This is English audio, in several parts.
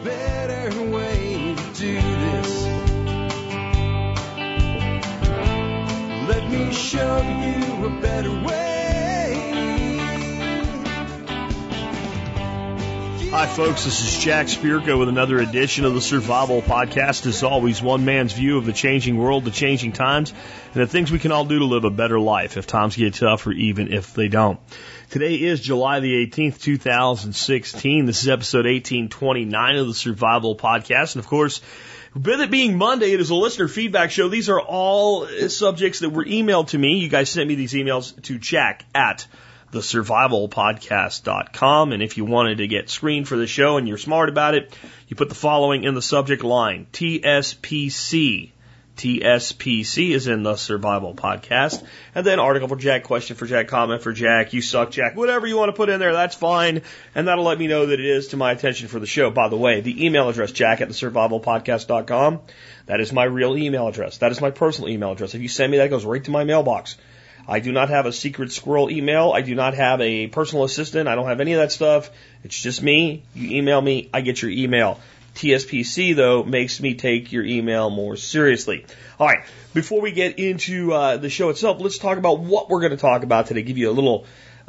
better way to do this. Let me show you a better way. Hi, folks. This is Jack Spirko with another edition of the Survival Podcast. As always, one man's view of the changing world, the changing times, and the things we can all do to live a better life if times get tough or even if they don't. Today is July the 18th, 2016. This is episode 1829 of the Survival Podcast. And, of course, with it being Monday, it is a listener feedback show. These are all subjects that were emailed to me. You guys sent me these emails to jack@thesurvivalpodcast.com. And if you wanted to get screened for the show and you're smart about it, you put the following in the subject line: TSPC. TSPC is in the Survival Podcast. And then article for Jack, question for Jack, comment for Jack, you suck Jack, whatever you want to put in there, that's fine. And that'll let me know that it is to my attention for the show. By the way, the email address, jack@thesurvivalpodcast.com, that is my real email address. That is my personal email address. If you send me that, it goes right to my mailbox. I do not have a secret squirrel email. I do not have a personal assistant. I don't have any of that stuff. It's just me. You email me, I get your email. TSPC, though, makes me take your email more seriously. All right, before we get into the show itself, let's talk about what we're going to talk about today. Give you a little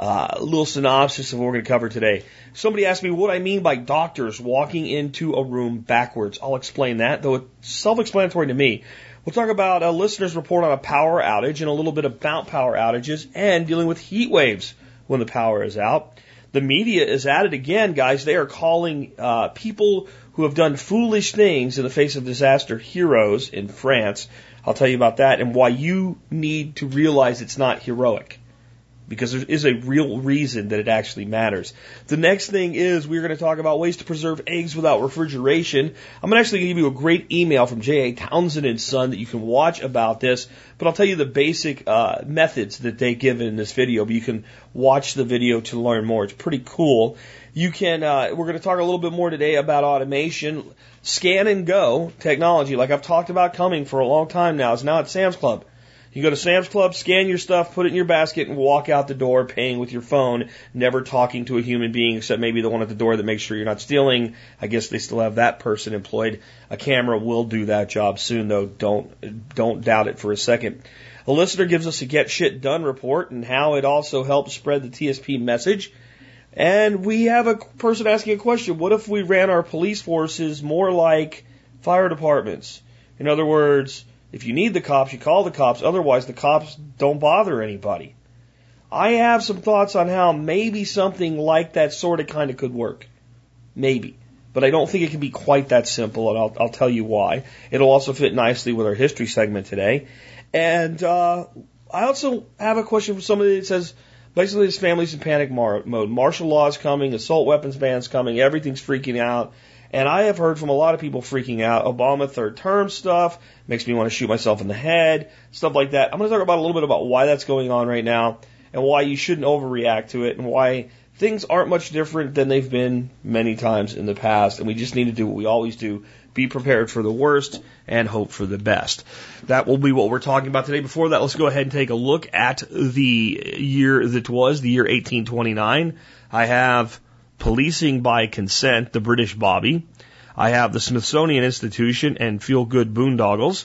synopsis of what we're going to cover today. Somebody asked me what I mean by doctors walking into a room backwards. I'll explain that, though it's self-explanatory to me. We'll talk about a listener's report on a power outage and a little bit about power outages and dealing with heat waves when the power is out. The media is at it again, guys. They are calling people who have done foolish things in the face of disaster heroes in France. I'll tell you about that and why you need to realize it's not heroic, because there is a real reason that it actually matters. The next thing is we're going to talk about ways to preserve eggs without refrigeration. I'm actually going to give you a great email from J.A. Townsend and Son that you can watch about this, but I'll tell you the basic methods that they give in this video, but you can watch the video to learn more. It's pretty cool. You can, we're going to talk a little bit more today about automation, scan and go technology, like I've talked about coming for a long time now. It's now at Sam's Club. You go to Sam's Club, scan your stuff, put it in your basket, and walk out the door paying with your phone, never talking to a human being except maybe the one at the door that makes sure you're not stealing. I guess they still have that person employed. A camera will do that job soon, though. Don't doubt it for a second. A listener gives us a Get Shit Done report and how it also helps spread the TSP message. And we have a person asking a question. What if we ran our police forces more like fire departments? In other words, if you need the cops, you call the cops. Otherwise, the cops don't bother anybody. I have some thoughts on how maybe something like that sort of kind of could work. Maybe. But I don't think it can be quite that simple, and I'll tell you why. It'll also fit nicely with our history segment today. And I also have a question for somebody that says, basically this family's in panic mode. Martial law is coming, assault weapons ban's coming, everything's freaking out. And I have heard from a lot of people freaking out. Obama third term stuff makes me want to shoot myself in the head, stuff like that. I'm going to talk about a little bit about why that's going on right now and why you shouldn't overreact to it and why things aren't much different than they've been many times in the past. And we just need to do what we always do, be prepared for the worst and hope for the best. That will be what we're talking about today. Before that, let's go ahead and take a look at the year that was, the year 1829. I have Policing by Consent, the British Bobby. I have the Smithsonian Institution and Feel Good Boondoggles.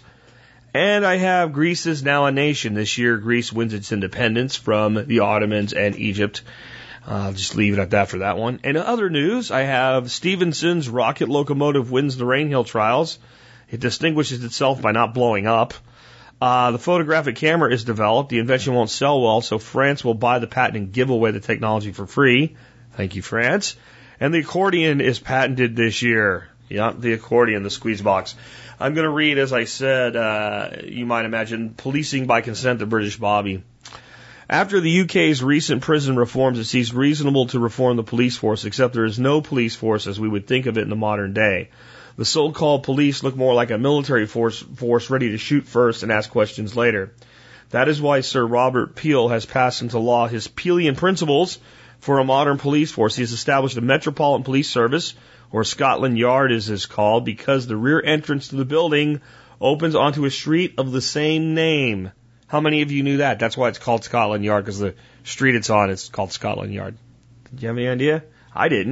And I have Greece is now a nation. This year, Greece wins its independence from the Ottomans and Egypt. I'll just leave it at that for that one. And in other news, I have Stephenson's rocket locomotive wins the Rainhill trials. It distinguishes itself by not blowing up. The photographic camera is developed. The invention won't sell well, so France will buy the patent and give away the technology for free. Thank you, France. And the accordion is patented this year. Yeah, the accordion, the squeeze box. I'm going to read, as I said, you might imagine, Policing by Consent, the British Bobby. After the UK's recent prison reforms, it seems reasonable to reform the police force, except there is no police force as we would think of it in the modern day. The so-called police look more like a military force ready to shoot first and ask questions later. That is why Sir Robert Peel has passed into law his Peelian principles for a modern police force. He has established a Metropolitan Police Service, or Scotland Yard as it's called, because the rear entrance to the building opens onto a street of the same name. How many of you knew that? That's why it's called Scotland Yard, because the street it's on is called Scotland Yard. Did you have any idea? I didn't.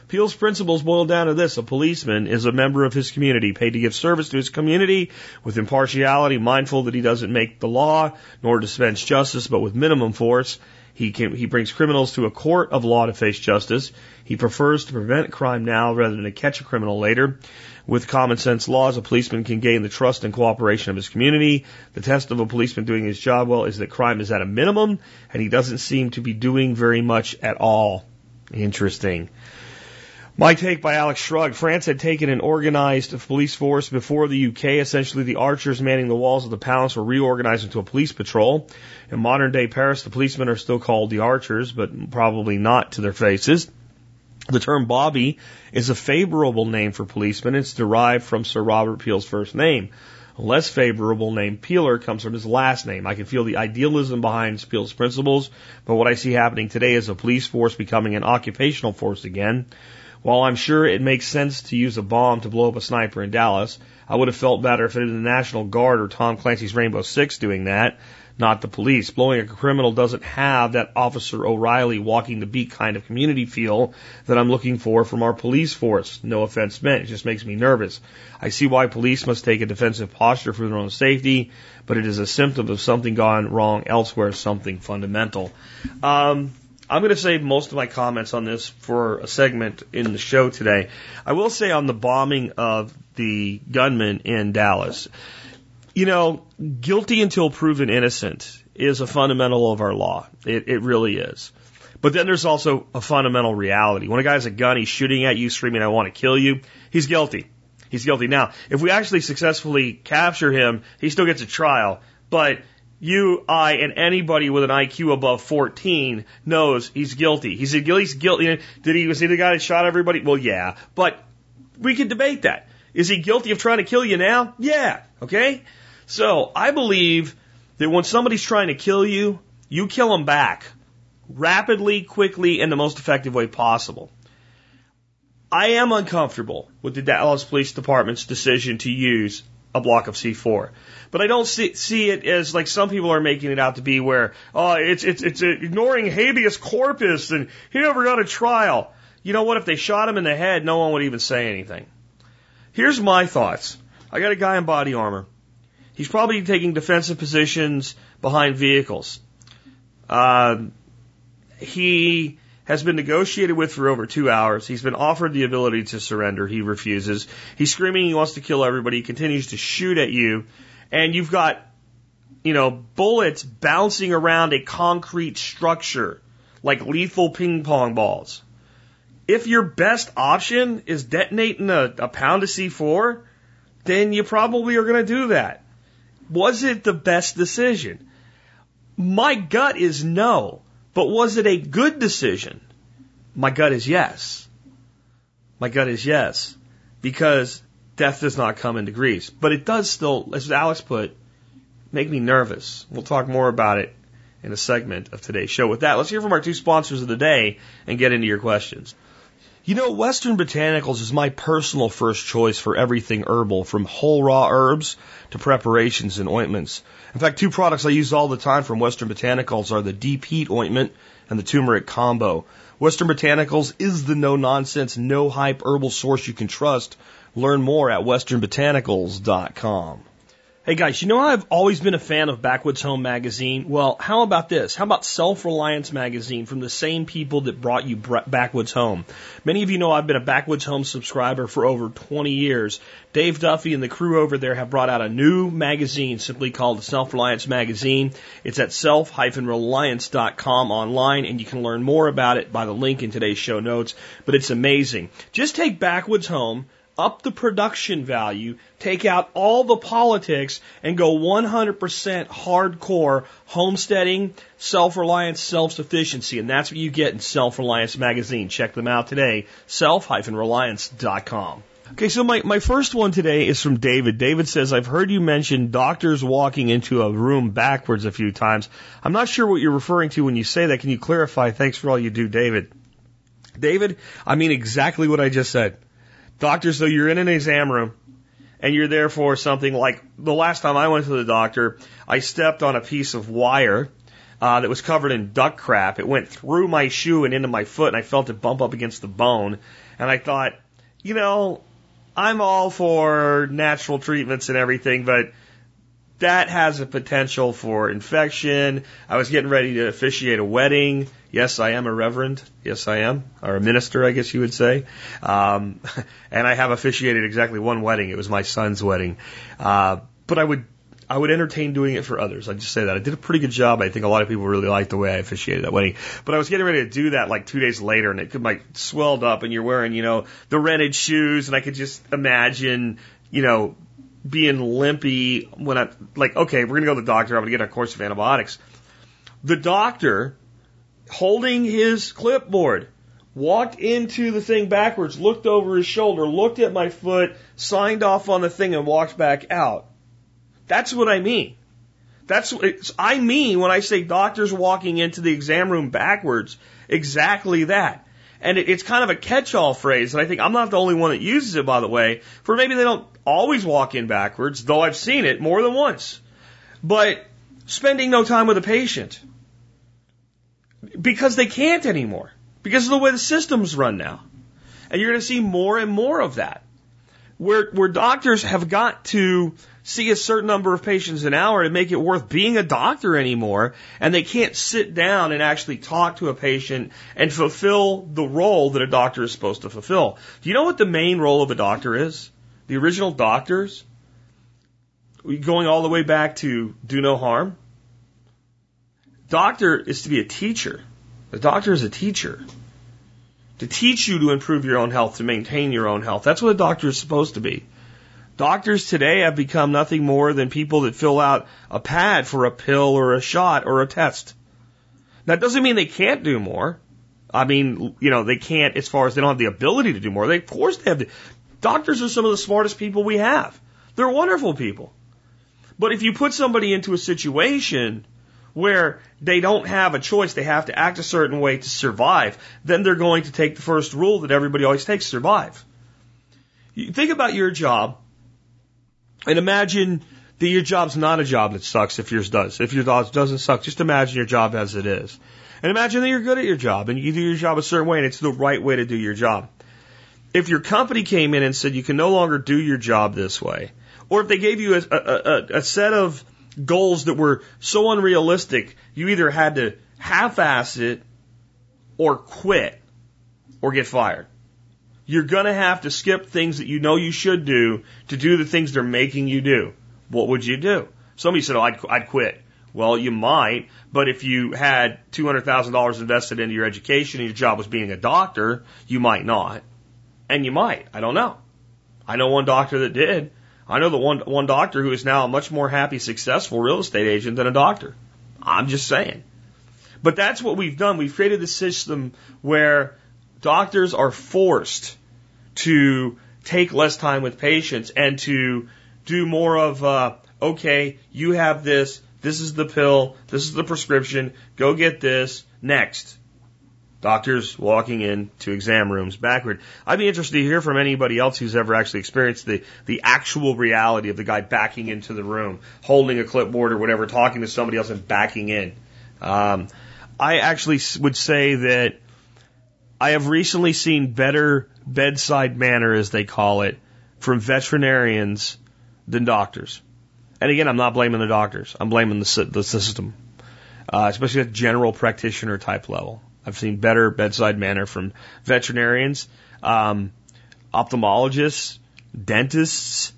Peel's principles boil down to this. A policeman is a member of his community, paid to give service to his community with impartiality, mindful that he doesn't make the law nor dispense justice, but with minimum force. He brings criminals to a court of law to face justice. He prefers to prevent crime now rather than to catch a criminal later. With common sense laws, a policeman can gain the trust and cooperation of his community. The test of a policeman doing his job well is that crime is at a minimum, and he doesn't seem to be doing very much at all. Interesting. My take by Alex Shrug. France had taken an organized police force before the UK. Essentially, the archers manning the walls of the palace were reorganized into a police patrol. In modern-day Paris, the policemen are still called the archers, but probably not to their faces. The term Bobby is a favorable name for policemen. It's derived from Sir Robert Peel's first name. A less favorable name, Peeler, comes from his last name. I can feel the idealism behind Peel's principles, but what I see happening today is a police force becoming an occupational force again. While I'm sure it makes sense to use a bomb to blow up a sniper in Dallas, I would have felt better if it had been the National Guard or Tom Clancy's Rainbow Six doing that, not the police. Blowing a criminal doesn't have that Officer O'Reilly walking the beat kind of community feel that I'm looking for from our police force. No offense meant. It just makes me nervous. I see why police must take a defensive posture for their own safety, but it is a symptom of something gone wrong elsewhere, something fundamental. I'm going to save most of my comments on this for a segment in the show today. I will say on the bombing of the gunman in Dallas, guilty until proven innocent is a fundamental of our law. It really is. But then there's also a fundamental reality. When a guy has a gun, he's shooting at you, screaming, "I want to kill you," he's guilty. He's guilty. Now, if we actually successfully capture him, he still gets a trial. But you, I, and anybody with an IQ above 14 knows he's guilty. He's guilty. Was he the guy that shot everybody? Well, yeah. But we could debate that. Is he guilty of trying to kill you now? Yeah. Okay? So I believe that when somebody's trying to kill you, you kill them back. Rapidly, quickly, and the most effective way possible. I am uncomfortable with the Dallas Police Department's decision to use a block of C4. But I don't see it as like some people are making it out to be where, it's ignoring habeas corpus and he never got a trial. You know what? If they shot him in the head, no one would even say anything. Here's my thoughts. I got a guy in body armor. He's probably taking defensive positions behind vehicles. He has been negotiated with for over 2 hours. He's been offered the ability to surrender. He refuses. He's screaming he wants to kill everybody. He continues to shoot at you. And you've got, bullets bouncing around a concrete structure like lethal ping pong balls. If your best option is detonating a pound of C4, then you probably are going to do that. Was it the best decision? My gut is no. But was it a good decision? My gut is yes. My gut is yes. Because death does not come in degrees. But it does still, as Alex put, make me nervous. We'll talk more about it in a segment of today's show. With that, let's hear from our two sponsors of the day and get into your questions. Western Botanicals is my personal first choice for everything herbal, from whole raw herbs to preparations and ointments. In fact, two products I use all the time from Western Botanicals are the Deep Heat Ointment and the Turmeric Combo. Western Botanicals is the no-nonsense, no-hype herbal source you can trust. Learn more at westernbotanicals.com. Hey guys, I've always been a fan of Backwoods Home magazine. Well, how about this? How about Self-Reliance magazine from the same people that brought you Backwoods Home? Many of you know I've been a Backwoods Home subscriber for over 20 years. Dave Duffy and the crew over there have brought out a new magazine simply called the Self-Reliance magazine. It's at self-reliance.com online, and you can learn more about it by the link in today's show notes. But it's amazing. Just take Backwoods Home, up the production value, take out all the politics, and go 100% hardcore homesteading, self-reliance, self-sufficiency. And that's what you get in Self-Reliance magazine. Check them out today, self-reliance.com. Okay, so my first one today is from David. David says, I've heard you mention doctors walking into a room backwards a few times. I'm not sure what you're referring to when you say that. Can you clarify? Thanks for all you do, David. David, I mean exactly what I just said. Doctors, though, you're in an exam room and you're there for something like the last time I went to the doctor, I stepped on a piece of wire that was covered in duck crap. It went through my shoe and into my foot, and I felt it bump up against the bone. And I thought, I'm all for natural treatments and everything, but that has a potential for infection. I was getting ready to officiate a wedding. Yes, I am a reverend. Yes, I am. Or a minister, I guess you would say. And I have officiated exactly one wedding. It was my son's wedding. But I would entertain doing it for others. I'd just say that. I did a pretty good job. I think a lot of people really liked the way I officiated that wedding. But I was getting ready to do that like 2 days later, and it could swelled up, and you're wearing, the rented shoes, and I could just imagine, being limpy when okay, we're going to go to the doctor. I'm going to get a course of antibiotics. The doctor, holding his clipboard, walked into the thing backwards, looked over his shoulder, looked at my foot, signed off on the thing, and walked back out. That's what I mean. I mean when I say doctors walking into the exam room backwards, exactly that. And it's kind of a catch-all phrase, and I think I'm not the only one that uses it, by the way, for maybe they don't always walk in backwards, though I've seen it more than once. But spending no time with a patient. Because they can't anymore. Because of the way the system's run now. And you're going to see more and more of that. Where doctors have got to see a certain number of patients an hour to make it worth being a doctor anymore, and they can't sit down and actually talk to a patient and fulfill the role that a doctor is supposed to fulfill. Do you know what the main role of a doctor is? The original doctors, going all the way back to do no harm. Doctor is to be a teacher. The doctor is a teacher. To teach you to improve your own health, to maintain your own health. That's what a doctor is supposed to be. Doctors today have become nothing more than people that fill out a pad for a pill or a shot or a test. That doesn't mean they can't do more. I mean, they can't as far as they don't have the ability to do more. Of course they have. Doctors are some of the smartest people we have. They're wonderful people. But if you put somebody into a situation where they don't have a choice, they have to act a certain way to survive, then they're going to take the first rule that everybody always takes, survive. You think about your job and imagine that your job's not a job that sucks if yours does. If your job doesn't suck, just imagine your job as it is. And imagine that you're good at your job and you do your job a certain way and it's the right way to do your job. If your company came in and said you can no longer do your job this way, or if they gave you a set of goals that were so unrealistic, you either had to half-ass it or quit or get fired. You're going to have to skip things that you know you should do to do the things they're making you do. What would you do? Somebody said, I'd quit. Well, you might, but if you had $200,000 invested into your education and your job was being a doctor, you might not. And you might. I don't know. I know one doctor that did. I know the one doctor who is now a much more happy, successful real estate agent than a doctor. I'm just saying. But that's what we've done. We've created a system where doctors are forced to take less time with patients and to do more of, okay, you have this is the pill, this is the prescription, go get this, next. Doctors walking into exam rooms backward. I'd be interested to hear from anybody else who's ever actually experienced the actual reality of the guy backing into the room, holding a clipboard or whatever, talking to somebody else and backing in. I actually would say that I have recently seen better bedside manner, as they call it, from veterinarians than doctors. And again, I'm not blaming the doctors. I'm blaming the system, especially at general practitioner type level. I've seen better bedside manner from veterinarians, ophthalmologists, dentists,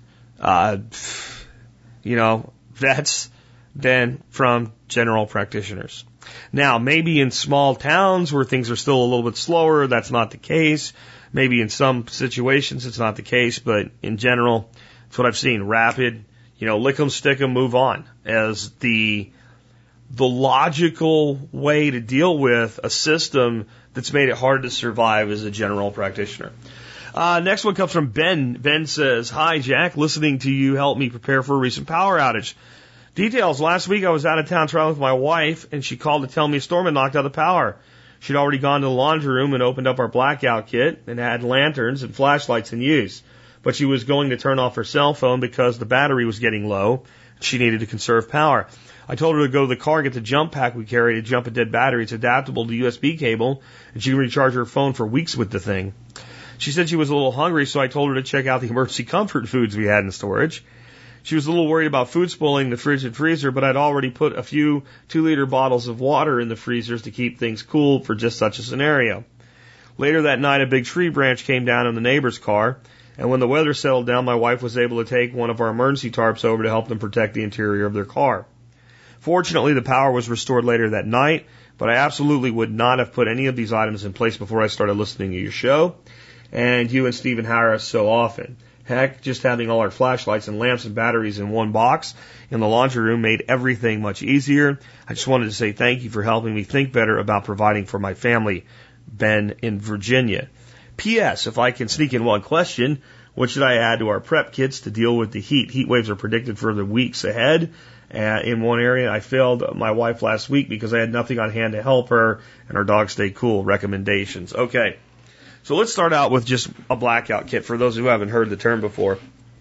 vets than from general practitioners. Now, maybe in small towns where things are still a little bit slower, that's not the case. Maybe in some situations it's not the case, but in general, that's what I've seen. Rapid, lick 'em, stick 'em, move on as the logical way to deal with a system that's made it hard to survive as a general practitioner. Next one comes from Ben. Ben says, "Hi, Jack. Listening to you helped me prepare for a recent power outage. Details. Last week I was out of town traveling with my wife, and she called to tell me a storm had knocked out the power. She'd already gone to the laundry room and opened up our blackout kit and had lanterns and flashlights in use. But she was going to turn off her cell phone because the battery was getting low. She needed to conserve power. I told her to go to the car and get the jump pack we carry to jump a dead battery. It's adaptable to USB cable, and she can recharge her phone for weeks with the thing. She said she was a little hungry, so I told her to check out the emergency comfort foods we had in storage. She was a little worried about food spoiling in the fridge and freezer, but I'd already put a few 2-liter bottles of water in the freezers to keep things cool for just such a scenario. Later that night, a big tree branch came down in the neighbor's car, and when the weather settled down, my wife was able to take one of our emergency tarps over to help them protect the interior of their car. Fortunately, the power was restored later that night, but I absolutely would not have put any of these items in place before I started listening to your show, and you and Stephen Harris so often. Heck, just having all our flashlights and lamps and batteries in one box in the laundry room made everything much easier. I just wanted to say thank you for helping me think better about providing for my family. Ben in Virginia. P.S. If I can sneak in one question, what should I add to our prep kits to deal with the heat? Heat waves are predicted for the weeks ahead. In one area, I failed my wife last week because I had nothing on hand to help her, and our dog stayed cool. Recommendations. Okay, so let's start out with just a blackout kit for those who haven't heard the term before.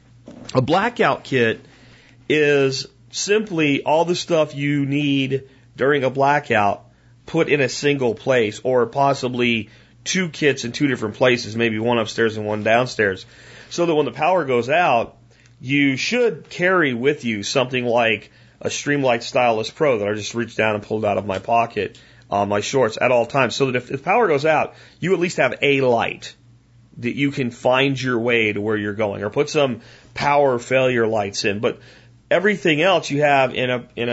A blackout kit is simply all the stuff you need during a blackout put in a single place, or possibly two kits in two different places, maybe one upstairs and one downstairs, so that when the power goes out, you should carry with you something like a Streamlight Stylus Pro that I just reached down and pulled out of my pocket on my shorts at all times, so that if the power goes out, you at least have a light that you can find your way to where you're going, or put some power failure lights in. But everything else you have in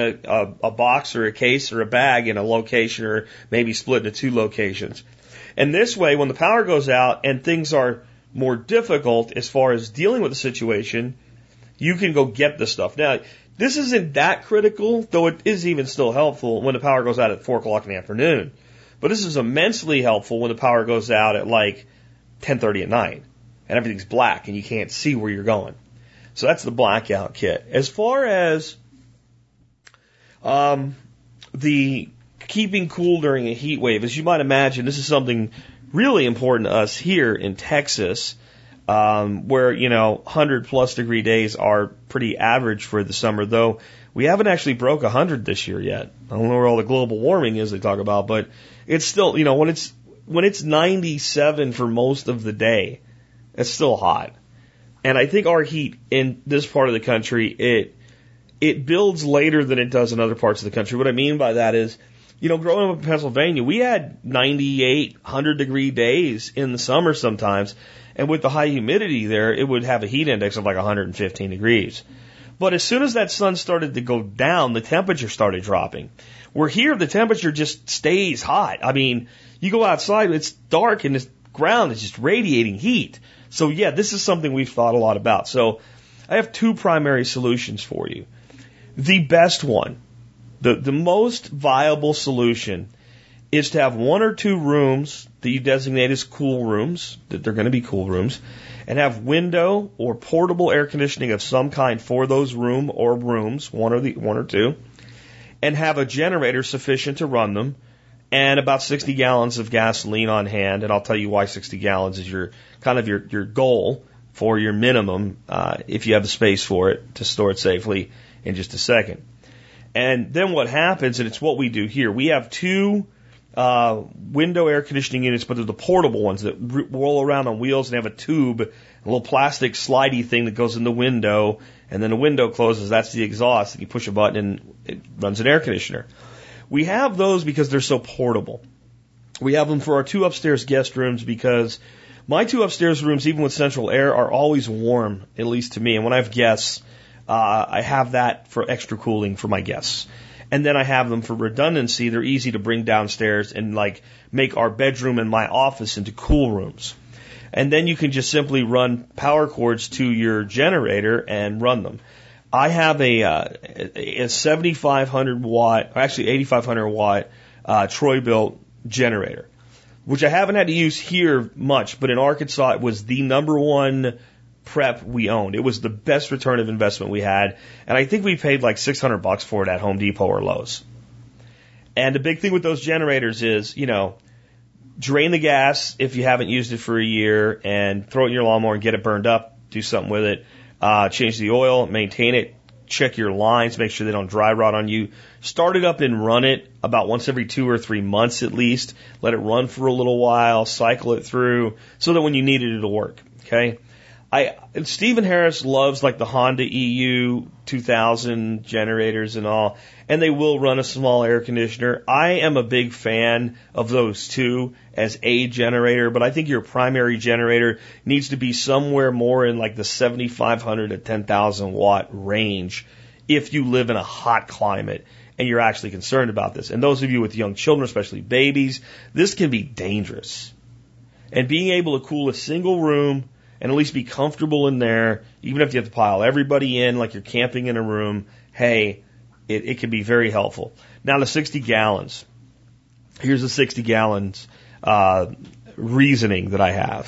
a box or a case or a bag in a location, or maybe split into two locations. And this way, when the power goes out and things are more difficult as far as dealing with the situation, you can go get the stuff. Now, this isn't that critical, though it is even still helpful when the power goes out at 4 o'clock in the afternoon. But this is immensely helpful when the power goes out at like 10:30 at night and everything's black and you can't see where you're going. So that's the blackout kit. As far as the keeping cool during a heat wave, as you might imagine, this is something really important to us here in Texas, where, 100+ degree days are pretty average for the summer, though we haven't actually broke 100 this year yet. I don't know where all the global warming is they talk about, but it's still, when it's 97 for most of the day, it's still hot. And I think our heat in this part of the country, it builds later than it does in other parts of the country. What I mean by that is, growing up in Pennsylvania, we had 98, 100 degree days in the summer sometimes. And with the high humidity there, it would have a heat index of like 115 degrees. But as soon as that sun started to go down, the temperature started dropping. Where here, the temperature just stays hot. I mean, you go outside, it's dark and the ground is just radiating heat. So yeah, this is something we've thought a lot about. So I have two primary solutions for you. The best one, the most viable solution, is to have 1 or 2 rooms that you designate as cool rooms, that they're going to be cool rooms, and have window or portable air conditioning of some kind for those rooms, one or two, and have a generator sufficient to run them, and about 60 gallons of gasoline on hand. And I'll tell you why 60 gallons is your goal for your minimum, if you have the space for it to store it safely, in just a second. And then what happens, and it's what we do here, we have 2 window air conditioning units, but they're the portable ones that roll around on wheels and have a tube, a little plastic slidey thing that goes in the window, and then the window closes. That's the exhaust. You push a button and it runs an air conditioner. We have those because they're so portable. We have them for our 2 upstairs guest rooms because my 2 upstairs rooms, even with central air, are always warm, at least to me. And when I have guests, I have that for extra cooling for my guests. And then I have them for redundancy. They're easy to bring downstairs and make our bedroom and my office into cool rooms. And then you can just simply run power cords to your generator and run them. I have a 7,500 watt, or actually 8,500 watt Troy-Bilt generator, which I haven't had to use here much, but in Arkansas it was the number one prep we owned. It was the best return of investment we had, and I think we paid like $600 for it at Home Depot or Lowe's. And the big thing with those generators is, drain the gas if you haven't used it for a year, and throw it in your lawnmower and get it burned up. Do something with it. Change the oil, maintain it, check your lines, make sure they don't dry rot on you. Start it up and run it about once every 2 or 3 months at least. Let it run for a little while, cycle it through, so that when you need it, it'll work. Okay? Stephen Harris loves like the Honda EU 2000 generators and all, and they will run a small air conditioner. I am a big fan of those too as a generator, but I think your primary generator needs to be somewhere more in like the 7,500 to 10,000 watt range if you live in a hot climate and you're actually concerned about this. And those of you with young children, especially babies, this can be dangerous. And being able to cool a single room and at least be comfortable in there, even if you have to pile everybody in like you're camping in a room, hey, it can be very helpful. Now the 60 gallons. Here's the 60 gallons reasoning that I have.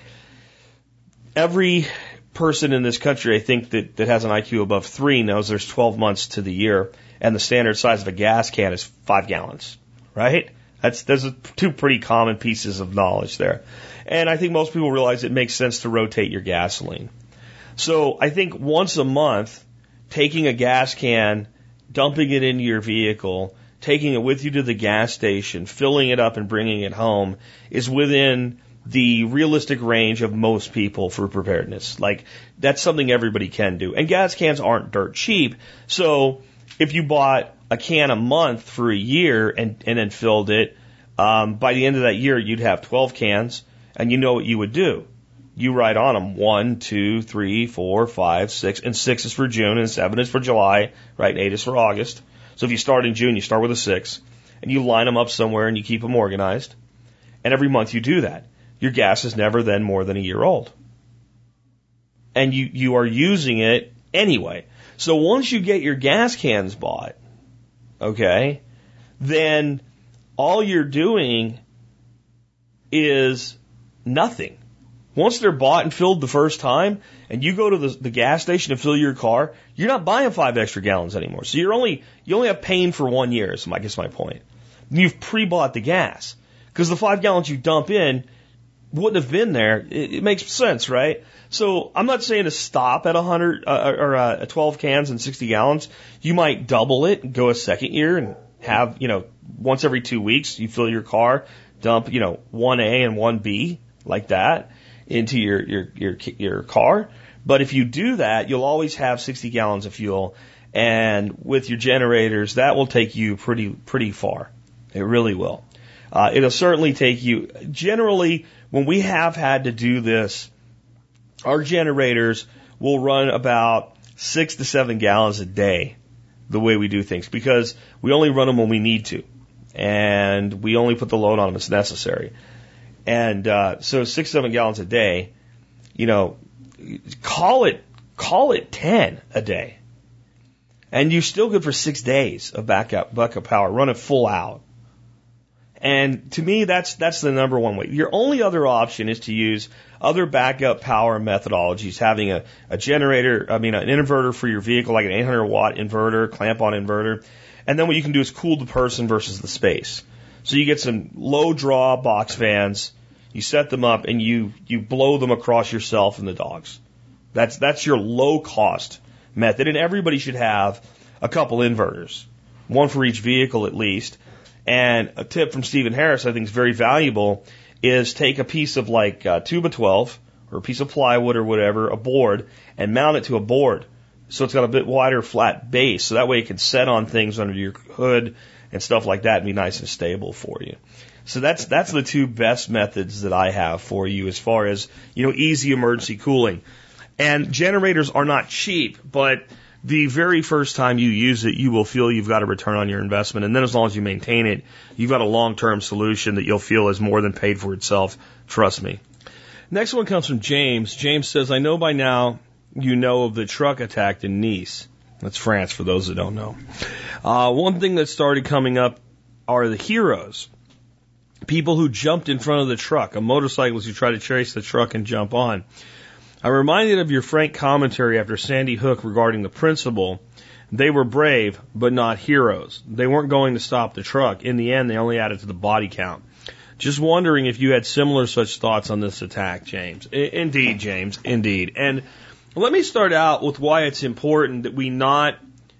Every person in this country, I think, that has an IQ above 3 knows there's 12 months to the year, and the standard size of a gas can is 5 gallons, right? There's two pretty common pieces of knowledge there. And I think most people realize it makes sense to rotate your gasoline. So I think once a month, taking a gas can, dumping it into your vehicle, taking it with you to the gas station, filling it up and bringing it home is within the realistic range of most people for preparedness. Like, that's something everybody can do. And gas cans aren't dirt cheap. So if you bought a can a month for a year and then filled it, by the end of that year, you'd have 12 cans, and you know what you would do. You write on them 1, 2, 3, 4, 5, 6, and 6 is for June, and 7 is for July, right? And 8 is for August. So if you start in June, you start with a 6, and you line them up somewhere and you keep them organized. And every month you do that. Your gas is never then more than a year old. And you are using it anyway. So once you get your gas cans bought, okay, then all you're doing is nothing. Once they're bought and filled the first time, and you go to the gas station to fill your car, you're not buying 5 extra gallons anymore. So you only have paying for 1 year, is I guess my point. You've pre-bought the gas. Because the 5 gallons you dump in wouldn't have been there. It makes sense, right? So I'm not saying to stop at 12 cans and 60 gallons. You might double it and go a second year and have, once every 2 weeks, you fill your car, dump, 1A and 1B like that into your car. But if you do that, you'll always have 60 gallons of fuel. And with your generators, that will take you pretty far. It really will. It'll certainly take you, generally, when we have had to do this, our generators will run about 6 to 7 gallons a day the way we do things, because we only run them when we need to, and we only put the load on them as necessary. And so 6, 7 gallons a day, call it 10 a day, and you're still good for 6 days of backup power. Run it full out. And to me, that's the number one way. Your only other option is to use other backup power methodologies, having a generator, an inverter for your vehicle, like an 800 watt inverter, clamp-on inverter. And then what you can do is cool the person versus the space. So you get some low draw box fans, you set them up, and you blow them across yourself and the dogs. That's your low cost method. And everybody should have a couple inverters, one for each vehicle at least. And a tip from Stephen Harris I think is very valuable is take a piece of like 2x12 or a piece of plywood or whatever, a board, and mount it to a board so it's got a bit wider flat base, so that way it can set on things under your hood and stuff like that and be nice and stable for you. So that's the two best methods that I have for you as far as, easy emergency cooling. And generators are not cheap, but the very first time you use it, you will feel you've got a return on your investment. And then as long as you maintain it, you've got a long-term solution that you'll feel is more than paid for itself. Trust me. Next one comes from James. James says, I know by now you know of the truck attack in Nice. That's France, for those that don't know. One thing that started coming up are the heroes. People who jumped in front of the truck, a motorcyclist who tried to chase the truck and jump on. I'm reminded of your frank commentary after Sandy Hook regarding the principle. They were brave, but not heroes. They weren't going to stop the truck. In the end, they only added to the body count. Just wondering if you had similar such thoughts on this attack, James. Indeed, James, indeed. And Let me start out with why it's important that we not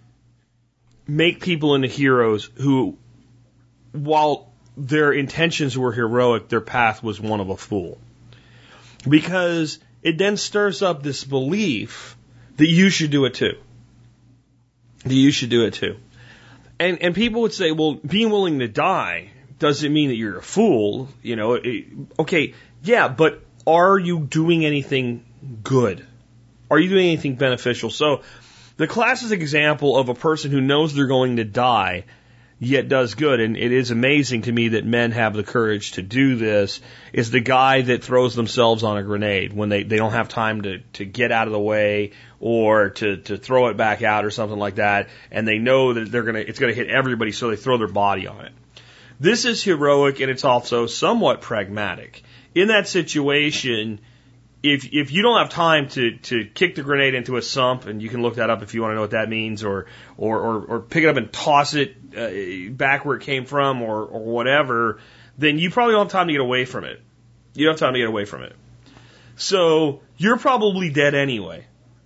make people into heroes who, while their intentions were heroic, their path was one of a fool. Because it then stirs up this belief that you should do it too. That you should do it too. And people would say, well, being willing to die doesn't mean that you're a fool. You know, okay, yeah, but are you doing anything good? Are you doing anything beneficial? So the classic example of a person who knows they're going to die yet does good, and it is amazing to me that men have the courage to do this, is the guy that throws themselves on a grenade when they don't have time to get out of the way or to throw it back out or something like that, and they know that it's gonna hit everybody, so they throw their body on it. This is heroic, and it's also somewhat pragmatic. In that situation, if you don't have time to kick the grenade into a sump, and you can look that up if you want to know what that means, or pick it up and toss it back where it came from, or whatever, then you probably don't have time to get away from it. You don't have time to get away from it. So you're probably dead anyway.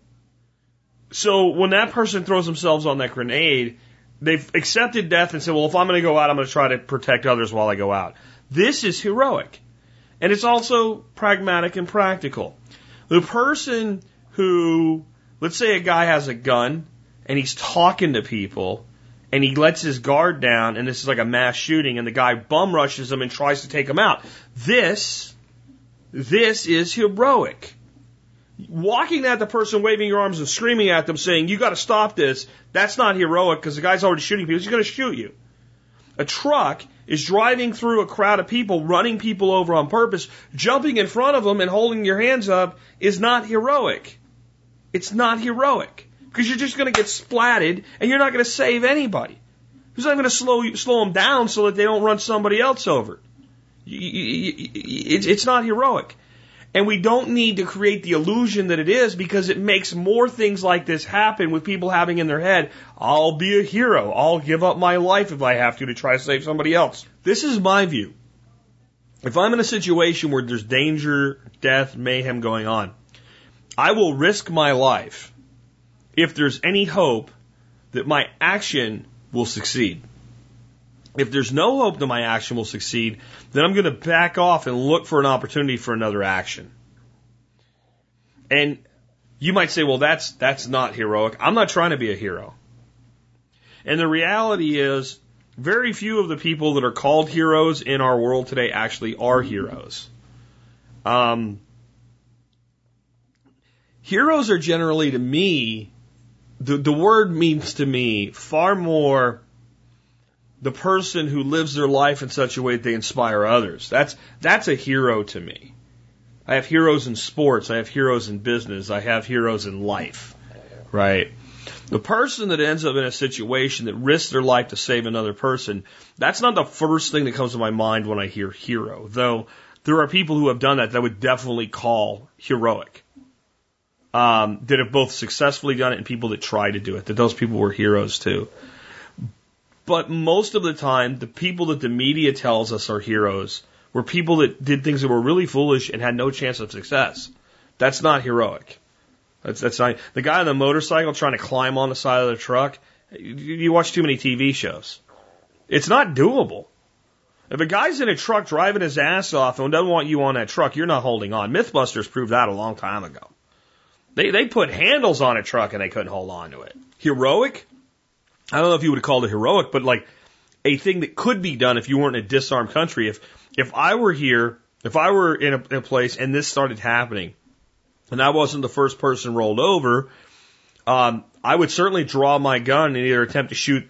So when that person throws themselves on that grenade, they've accepted death and said, well, if I'm going to go out, I'm going to try to protect others while I go out. This is heroic. And it's also pragmatic and practical. The person who, let's say a guy has a gun and he's talking to people and he lets his guard down and this is like a mass shooting and the guy bum rushes him and tries to take him out. This is heroic. Walking at the person, waving your arms and screaming at them saying, you got to stop this, that's not heroic because the guy's already shooting people. He's going to shoot you. A truck is driving through a crowd of people, running people over on purpose, jumping in front of them and holding your hands up is not heroic. It's not heroic because you're just going to get splatted and you're not going to save anybody. Who's not going to slow them down so that they don't run somebody else over? It's not heroic. And we don't need to create the illusion that it is because it makes more things like this happen with people having in their head, I'll be a hero. I'll give up my life if I have to try to save somebody else. This is my view. If I'm in a situation where there's danger, death, mayhem going on, I will risk my life if there's any hope that my action will succeed. If there's no hope that my action will succeed, then I'm going to back off and look for an opportunity for another action. And you might say, well, that's not heroic. I'm not trying to be a hero. And the reality is, very few of the people that are called heroes in our world today actually are heroes. Heroes are generally, to me, the word means to me far more the person who lives their life in such a way that they inspire others. That's a hero to me. I have heroes in sports. I have heroes in business. I have heroes in life. Right? The person that ends up in a situation that risks their life to save another person, that's not the first thing that comes to my mind when I hear hero. Though there are people who have done that I would definitely call heroic. That have both successfully done it and people that try to do it. That those people were heroes too. But most of the time, the people that the media tells us are heroes were people that did things that were really foolish and had no chance of success. That's not heroic. That's not the guy on the motorcycle trying to climb on the side of the truck. You watch too many TV shows. It's not doable. If a guy's in a truck driving his ass off and doesn't want you on that truck, you're not holding on. Mythbusters proved that a long time ago. They put handles on a truck and they couldn't hold on to it. Heroic? I don't know if you would call it heroic, but like a thing that could be done if you weren't in a disarmed country. If I were here, if I were in a place and this started happening, and I wasn't the first person rolled over, I would certainly draw my gun and either attempt to shoot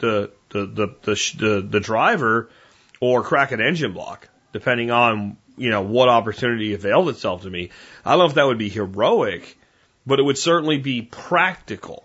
the driver or crack an engine block, depending on what opportunity availed itself to me. I don't know if that would be heroic, but it would certainly be practical.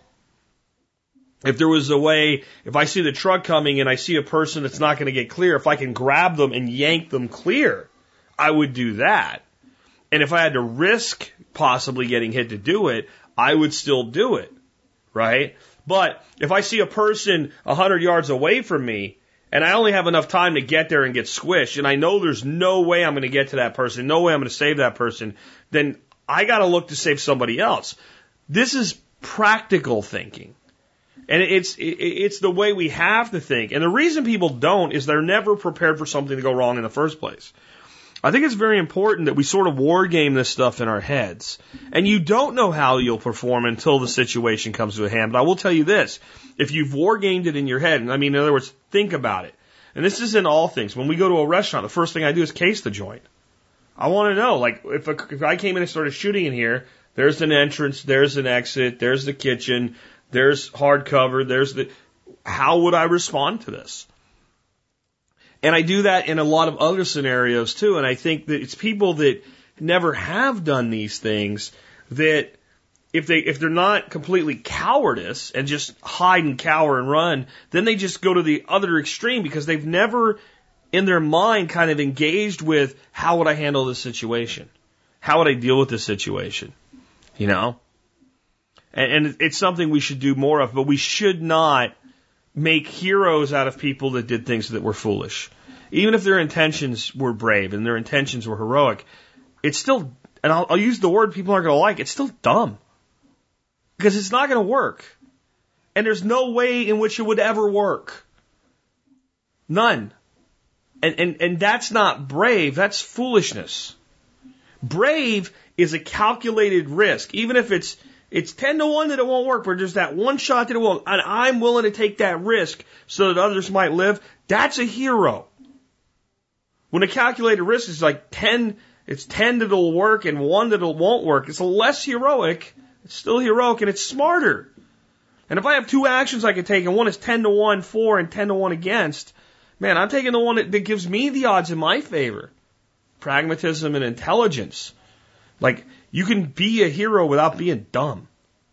If there was a way, if I see the truck coming and I see a person that's not going to get clear, if I can grab them and yank them clear, I would do that. And if I had to risk possibly getting hit to do it, I would still do it, right? But if I see a person 100 yards away from me and I only have enough time to get there and get squished, and I know there's no way I'm going to get to that person, no way I'm going to save that person, then I got to look to save somebody else. This is practical thinking. And it's the way we have to think. And the reason people don't is they're never prepared for something to go wrong in the first place. I think it's very important that we sort of war game this stuff in our heads. And you don't know how you'll perform until the situation comes to a hand. But I will tell you this. If you've war gamed it in your head, I mean, in other words, think about it. And this is in all things. When we go to a restaurant, the first thing I do is case the joint. I want to know, like, if I came in and started shooting in here, there's an entrance, there's an exit, there's the kitchen, there's hardcover, how would I respond to this? And I do that in a lot of other scenarios too. And I think that it's people that never have done these things that if they're not completely cowardice and just hide and cower and run, then they just go to the other extreme because they've never in their mind kind of engaged with how would I handle this situation? How would I deal with this situation? You know? And it's something we should do more of, but we should not make heroes out of people that did things that were foolish. Even if their intentions were brave and their intentions were heroic, it's still, and I'll use the word people aren't going to like, it's still dumb. Because it's not going to work. And there's no way in which it would ever work. None. And that's not brave, that's foolishness. Brave is a calculated risk, even if it's 10 to 1 that it won't work, but there's that one shot that it won't, and I'm willing to take that risk so that others might live. That's a hero. When a calculated risk is like 10, it's 10 that it'll work and 1 that it won't work. It's less heroic. It's still heroic and it's smarter. And if I have 2 actions I can take and one is 10 to 1 for and 10 to 1 against, man, I'm taking the one that gives me the odds in my favor. Pragmatism and intelligence. Like, you can be a hero without being dumb.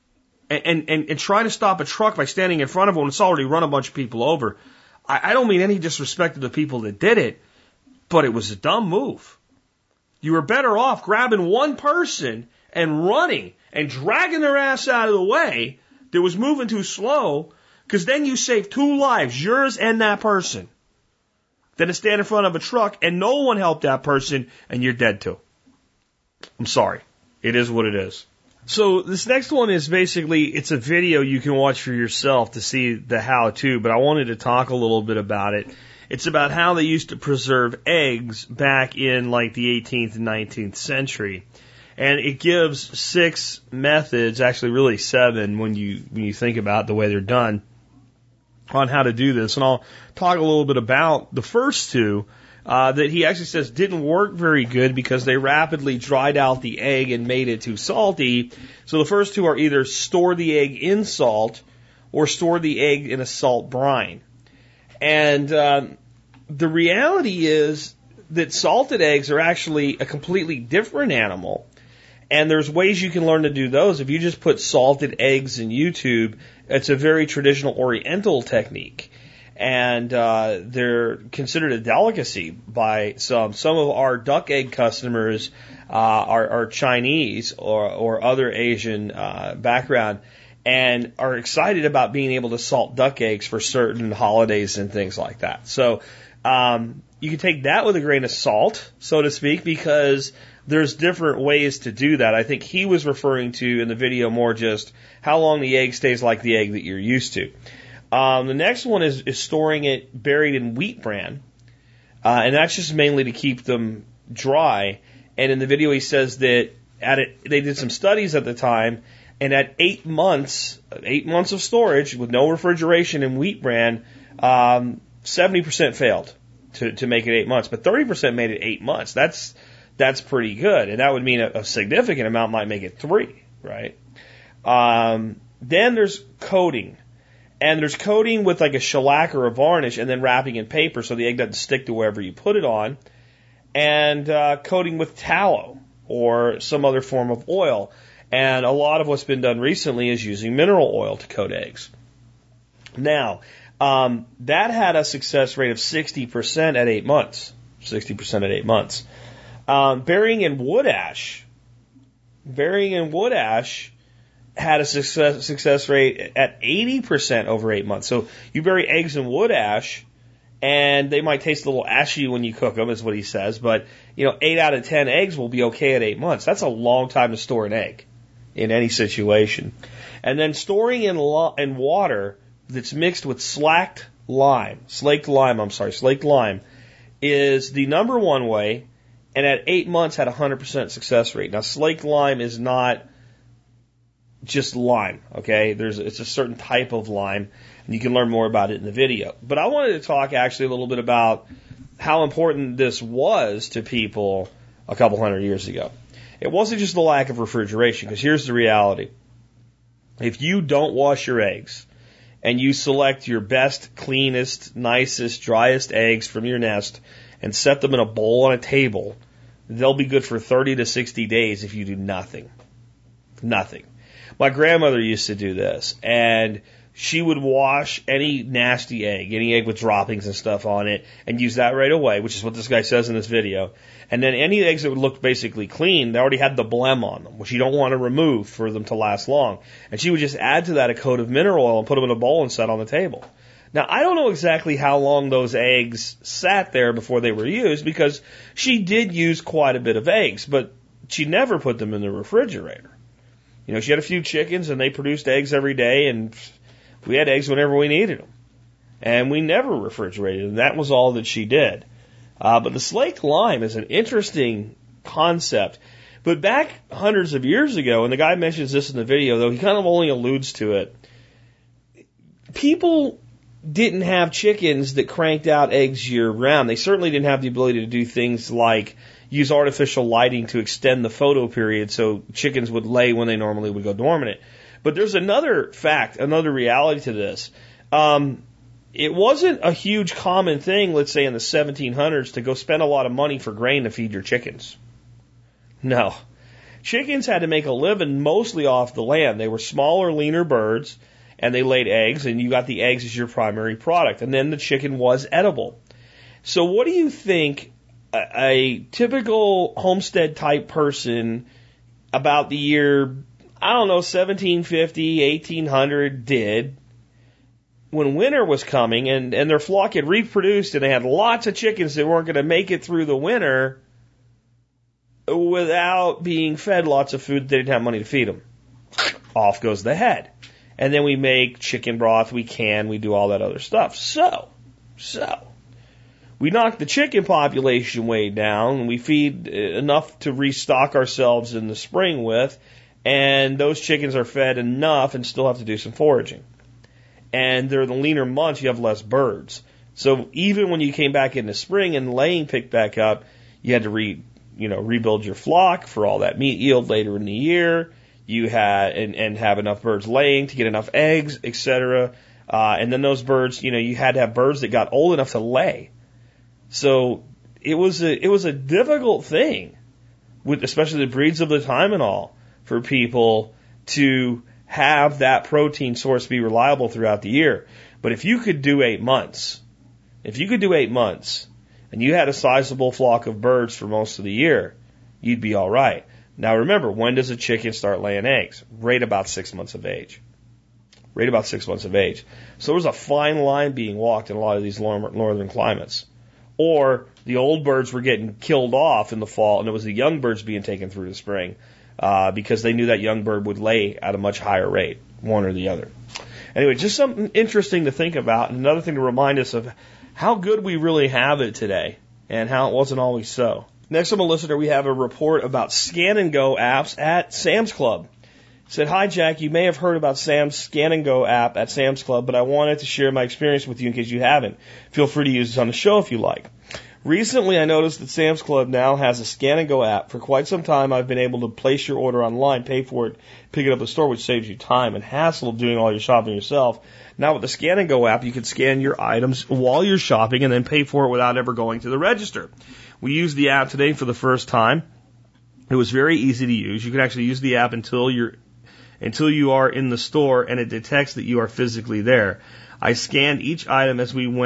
And try to stop a truck by standing in front of it when it's already run a bunch of people over. I don't mean any disrespect to the people that did it, but it was a dumb move. You were better off grabbing one person and running and dragging their ass out of the way that was moving too slow, because then you saved 2 lives, yours and that person, than to stand in front of a truck and no one helped that person and you're dead too. I'm sorry. It is what it is. So this next one is basically, it's a video you can watch for yourself to see the how-to, but I wanted to talk a little bit about it. It's about how they used to preserve eggs back in like the 18th and 19th century. And it gives 6 methods, actually really 7 when you think about the way they're done, on how to do this. And I'll talk a little bit about the first 2. That he actually says didn't work very good because they rapidly dried out the egg and made it too salty. So the first 2 are either store the egg in salt or store the egg in a salt brine. And the reality is that salted eggs are actually a completely different animal. And there's ways you can learn to do those. If you just put salted eggs in YouTube, it's a very traditional Oriental technique. And they're considered a delicacy by some. Some of our duck egg customers are Chinese or other Asian background and are excited about being able to salt duck eggs for certain holidays and things like that. So you can take that with a grain of salt, so to speak, because there's different ways to do that. I think he was referring to in the video more just how long the egg stays like the egg that you're used to. The next one is storing it buried in wheat bran, and that's just mainly to keep them dry. And in the video, he says that they did some studies at the time, and at 8 months of storage with no refrigeration in wheat bran, 70% failed to make it 8 months, but 30% made it 8 months. That's pretty good, and that would mean a significant amount might make it 3, right? Then there's coating. And there's coating with like a shellac or a varnish and then wrapping in paper so the egg doesn't stick to wherever you put it on. And coating with tallow or some other form of oil. And a lot of what's been done recently is using mineral oil to coat eggs. Now, that had a success rate of 60% at 8 months. 60% at 8 months. Burying in wood ash had a success rate at 80% over 8 months. So you bury eggs in wood ash, and they might taste a little ashy when you cook them, is what he says. But 8 out of 10 eggs will be okay at 8 months. That's a long time to store an egg. in any situation. And then storing in water that's mixed with slaked lime is the number one way, and at 8 months had a 100% success rate. Now, slaked lime is not just lime, okay? It's a certain type of lime, and you can learn more about it in the video. But I wanted to talk actually a little bit about how important this was to people a couple hundred years ago. It wasn't just the lack of refrigeration, because here's the reality. If you don't wash your eggs, and you select your best, cleanest, nicest, driest eggs from your nest and set them in a bowl on a table, they'll be good for 30 to 60 days if you do nothing. Nothing. My grandmother used to do this, and she would wash any nasty egg, any egg with droppings and stuff on it, and use that right away, which is what this guy says in this video. And then any eggs that would look basically clean, they already had the blem on them, which you don't want to remove for them to last long. And she would just add to that a coat of mineral oil and put them in a bowl and set on the table. Now, I don't know exactly how long those eggs sat there before they were used, because she did use quite a bit of eggs, but she never put them in the refrigerator. You know, she had a few chickens, and they produced eggs every day, and we had eggs whenever we needed them. And we never refrigerated them. That was all that she did. But the slaked lime is an interesting concept. But back hundreds of years ago, and the guy mentions this in the video, though he kind of only alludes to it, people didn't have chickens that cranked out eggs year-round. They certainly didn't have the ability to do things like use artificial lighting to extend the photo period so chickens would lay when they normally would go dormant. But there's another fact, another reality to this. It wasn't a huge common thing, let's say in the 1700s, to go spend a lot of money for grain to feed your chickens. No. Chickens had to make a living mostly off the land. They were smaller, leaner birds, and they laid eggs, and you got the eggs as your primary product. And then the chicken was edible. So what do you think a typical homestead-type person about the year, 1750, 1800 did when winter was coming and their flock had reproduced and they had lots of chickens that weren't going to make it through the winter without being fed lots of food they didn't have money to feed them? Off goes the head. And then we make chicken broth, we do all that other stuff. So, we knock the chicken population way down, we feed enough to restock ourselves in the spring with, and those chickens are fed enough and still have to do some foraging. And they're the leaner months, you have less birds. So even when you came back in the spring and laying picked back up, you had to rebuild your flock for all that meat yield later in the year. You had and have enough birds laying to get enough eggs, etc. And then those birds, you had to have birds that got old enough to lay. So it was a difficult thing, with especially the breeds of the time and all, for people to have that protein source be reliable throughout the year. But if you could do 8 months, and you had a sizable flock of birds for most of the year, you'd be all right. Now remember, when does a chicken start laying eggs? Right about 6 months of age. So there's a fine line being walked in a lot of these northern climates. Or the old birds were getting killed off in the fall, and it was the young birds being taken through the spring, because they knew that young bird would lay at a much higher rate, one or the other. Anyway, just something interesting to think about, and another thing to remind us of how good we really have it today, and how it wasn't always so. Next from a listener, we have a report about Scan and Go apps at Sam's Club. It said, "Hi Jack, you may have heard about Sam's Scan and Go app at Sam's Club, but I wanted to share my experience with you in case you haven't. Feel free to use this on the show if you like. Recently, I noticed that Sam's Club now has a Scan and Go app. For quite some time, I've been able to place your order online, pay for it, pick it up at the store, which saves you time and hassle of doing all your shopping yourself. Now with the Scan and Go app, you can scan your items while you're shopping and then pay for it without ever going to the register. We used the app today for the first time. It was very easy to use. You can actually use the app until you are in the store and it detects that you are physically there. I scanned each item as we went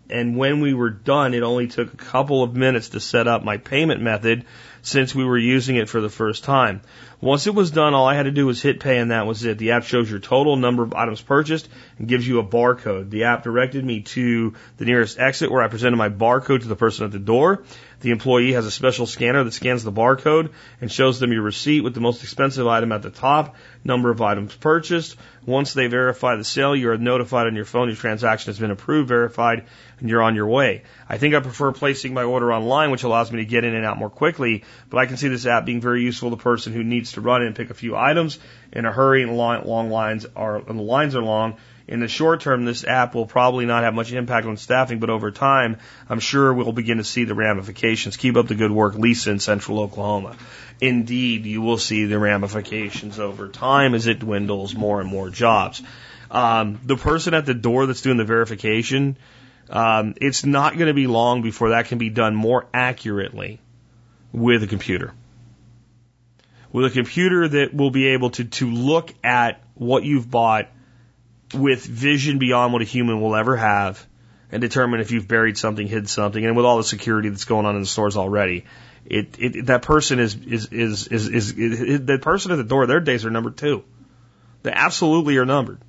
And when we were done, it only took a couple of minutes to set up my payment method since we were using it for the first time. Once it was done, all I had to do was hit pay and that was it. The app shows your total number of items purchased and gives you a barcode. The app directed me to the nearest exit where I presented my barcode to the person at the door. The employee has a special scanner that scans the barcode and shows them your receipt with the most expensive item at the top, number of items purchased. Once they verify the sale, you are notified on your phone your transaction has been approved, verified, and you're on your way. I think I prefer placing my order online, which allows me to get in and out more quickly, but I can see this app being very useful to the person who needs to run in and pick a few items in a hurry and the lines are long. In the short term, this app will probably not have much impact on staffing, but over time, I'm sure we'll begin to see the ramifications. Keep up the good work, Lisa in Central Oklahoma. Indeed, you will see the ramifications over time as it dwindles more and more jobs. The person at the door that's doing the verification, it's not going to be long before that can be done more accurately with a computer. With a computer that will be able to look at what you've bought with vision beyond what a human will ever have and determine if you've buried something, hid something, and with all the security that's going on in the stores already, that person the person at the door, their days are numbered too. They absolutely are numbered.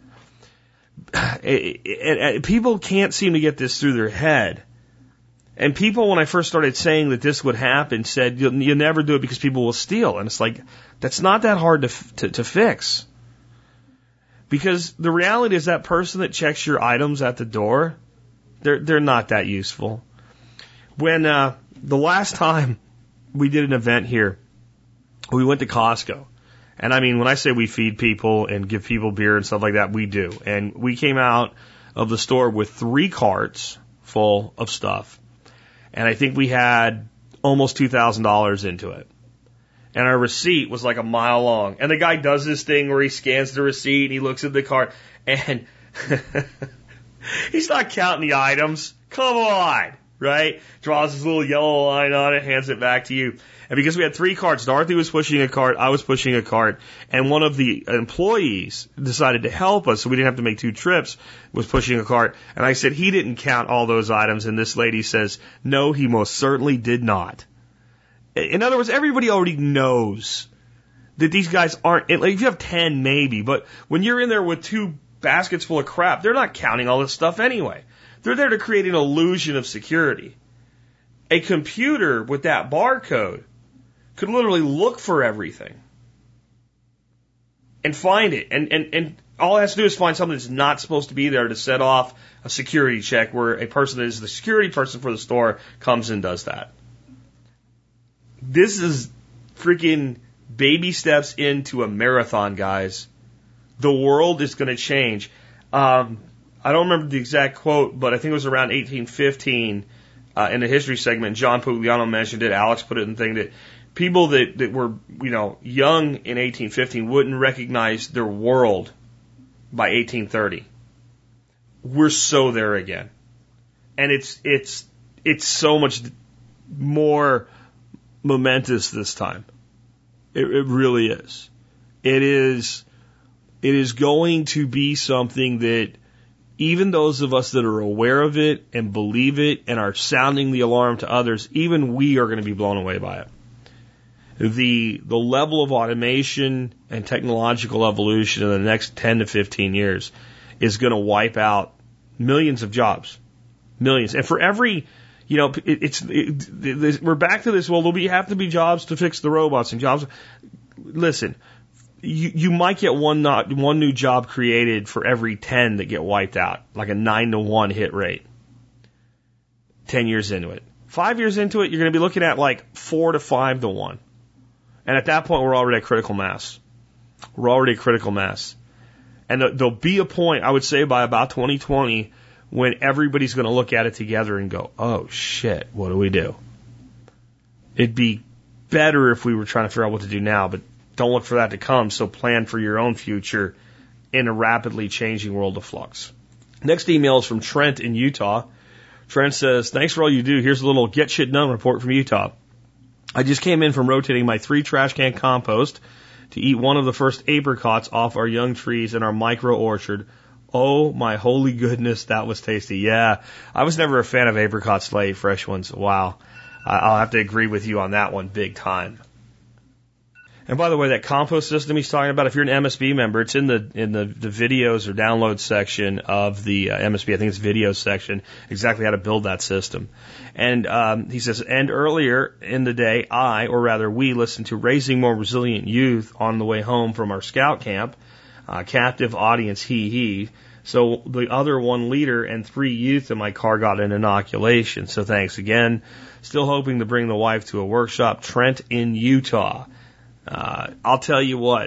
People can't seem to get this through their head. And people, when I first started saying that this would happen, said, you'll never do it because people will steal. And it's like, that's not that hard to fix. Because the reality is that person that checks your items at the door, they're not that useful. When the last time we did an event here, we went to Costco. And I mean, when I say we feed people and give people beer and stuff like that, we do. And we came out of the store with 3 carts full of stuff. And I think we had almost $2,000 into it. And our receipt was like a mile long. And the guy does this thing where he scans the receipt and he looks at the cart and he's not counting the items. Come on, right? Draws his little yellow line on it, hands it back to you. And because we had 3 carts, Dorothy was pushing a cart, I was pushing a cart, and one of the employees decided to help us so we didn't have to make 2 trips, was pushing a cart. And I said, he didn't count all those items. And this lady says, no, he most certainly did not. In other words, everybody already knows that these guys aren't, like if you have 10 maybe, but when you're in there with 2 baskets full of crap, they're not counting all this stuff anyway. They're there to create an illusion of security. A computer with that barcode could literally look for everything and find it. And all it has to do is find something that's not supposed to be there to set off a security check where a person that is the security person for the store comes and does that. This is freaking baby steps into a marathon, guys. The world is going to change. I don't remember the exact quote, but I think it was around 1815 in the history segment. John Pugliano mentioned it. Alex put it in the thing that people that were, young in 1815 wouldn't recognize their world by 1830. We're so there again. And it's so much more momentous this time. It really is. It is going to be something that even those of us that are aware of it and believe it and are sounding the alarm to others, even we are going to be blown away by it. The level of automation and technological evolution in the next 10 to 15 years is going to wipe out millions of jobs. Millions. And for every, we're back to this, well, there'll have to be jobs to fix the robots and jobs. Listen, you might get one new job created for every 10 that get wiped out, like a 9-to-1 hit rate. 10 years into it. 5 years into it, you're going to be looking at like 4 to 5-to-1. And at that point, we're already at critical mass. We're already at critical mass. And there'll be a point, I would say by about 2020, when everybody's going to look at it together and go, oh shit, what do we do? It'd be better if we were trying to figure out what to do now, but don't look for that to come, so plan for your own future in a rapidly changing world of flux. Next email is from Trent in Utah. Trent says, thanks for all you do. Here's a little get shit done report from Utah. I just came in from rotating my 3 trash can compost to eat one of the first apricots off our young trees in our micro orchard. Oh my holy goodness, that was tasty. Yeah, I was never a fan of apricot Slay fresh ones. Wow. I'll have to agree with you on that one big time. And by the way, that compost system he's talking about, if you're an MSB member, it's in the videos or download section of the MSB. I think it's videos section, exactly how to build that system. And he says, and earlier in the day, we listened to Raising More Resilient Youth on the way home from our scout camp. Captive audience, he. So the other 1 leader and 3 youth in my car got an inoculation. So thanks again. Still hoping to bring the wife to a workshop, Trent in Utah. I'll tell you what,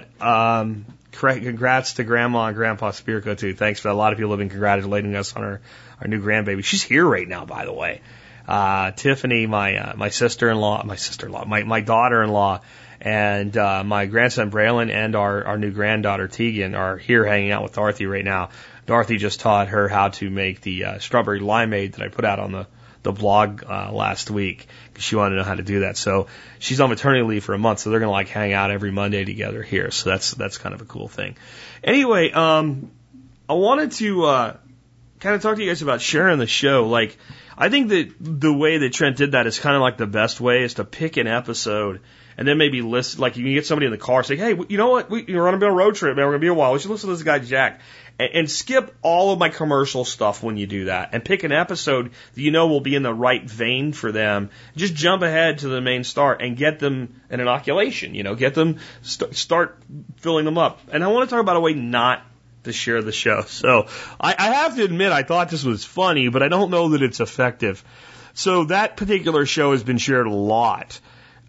congrats to Grandma and Grandpa Spirko too. Thanks for that. A lot of people have been congratulating us on our new grandbaby. She's here right now, by the way. Tiffany, my sister-in-law, my daughter-in-law, and my grandson Braylon and our new granddaughter Tegan are here hanging out with Dorothy right now. Dorothy just taught her how to make the strawberry limeade that I put out on the blog last week because she wanted to know how to do that. So she's on maternity leave for a month, so they're going to like hang out every Monday together here. So that's kind of a cool thing. Anyway, I wanted to kind of talk to you guys about sharing the show. Like, I think that the way that Trent did that is kind of like the best way is to pick an episode and then maybe list, like you can get somebody in the car say, hey, you know what, you're on a road trip, man, we're going to be a while. We should listen to this guy, Jack. And skip all of my commercial stuff when you do that and pick an episode that you know will be in the right vein for them. Just jump ahead to the main start and get them an inoculation, get them, start filling them up. And I want to talk about a way not to share the show. So I have to admit, I thought this was funny, but I don't know that it's effective. So that particular show has been shared a lot.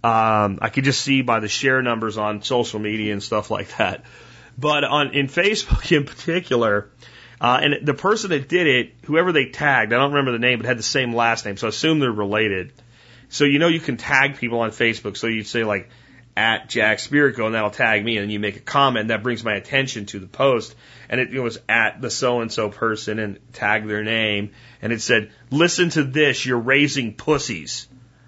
I could just see by the share numbers on social media and stuff like that. But in Facebook in particular, and the person that did it, whoever they tagged, I don't remember the name, but had the same last name, so I assume they're related. So you can tag people on Facebook. So you'd say like at Jack Spirko, and that'll tag me, and then you make a comment that brings my attention to the post, and it was at the so and so person, and tag their name, and it said, "Listen to this, you're raising pussies."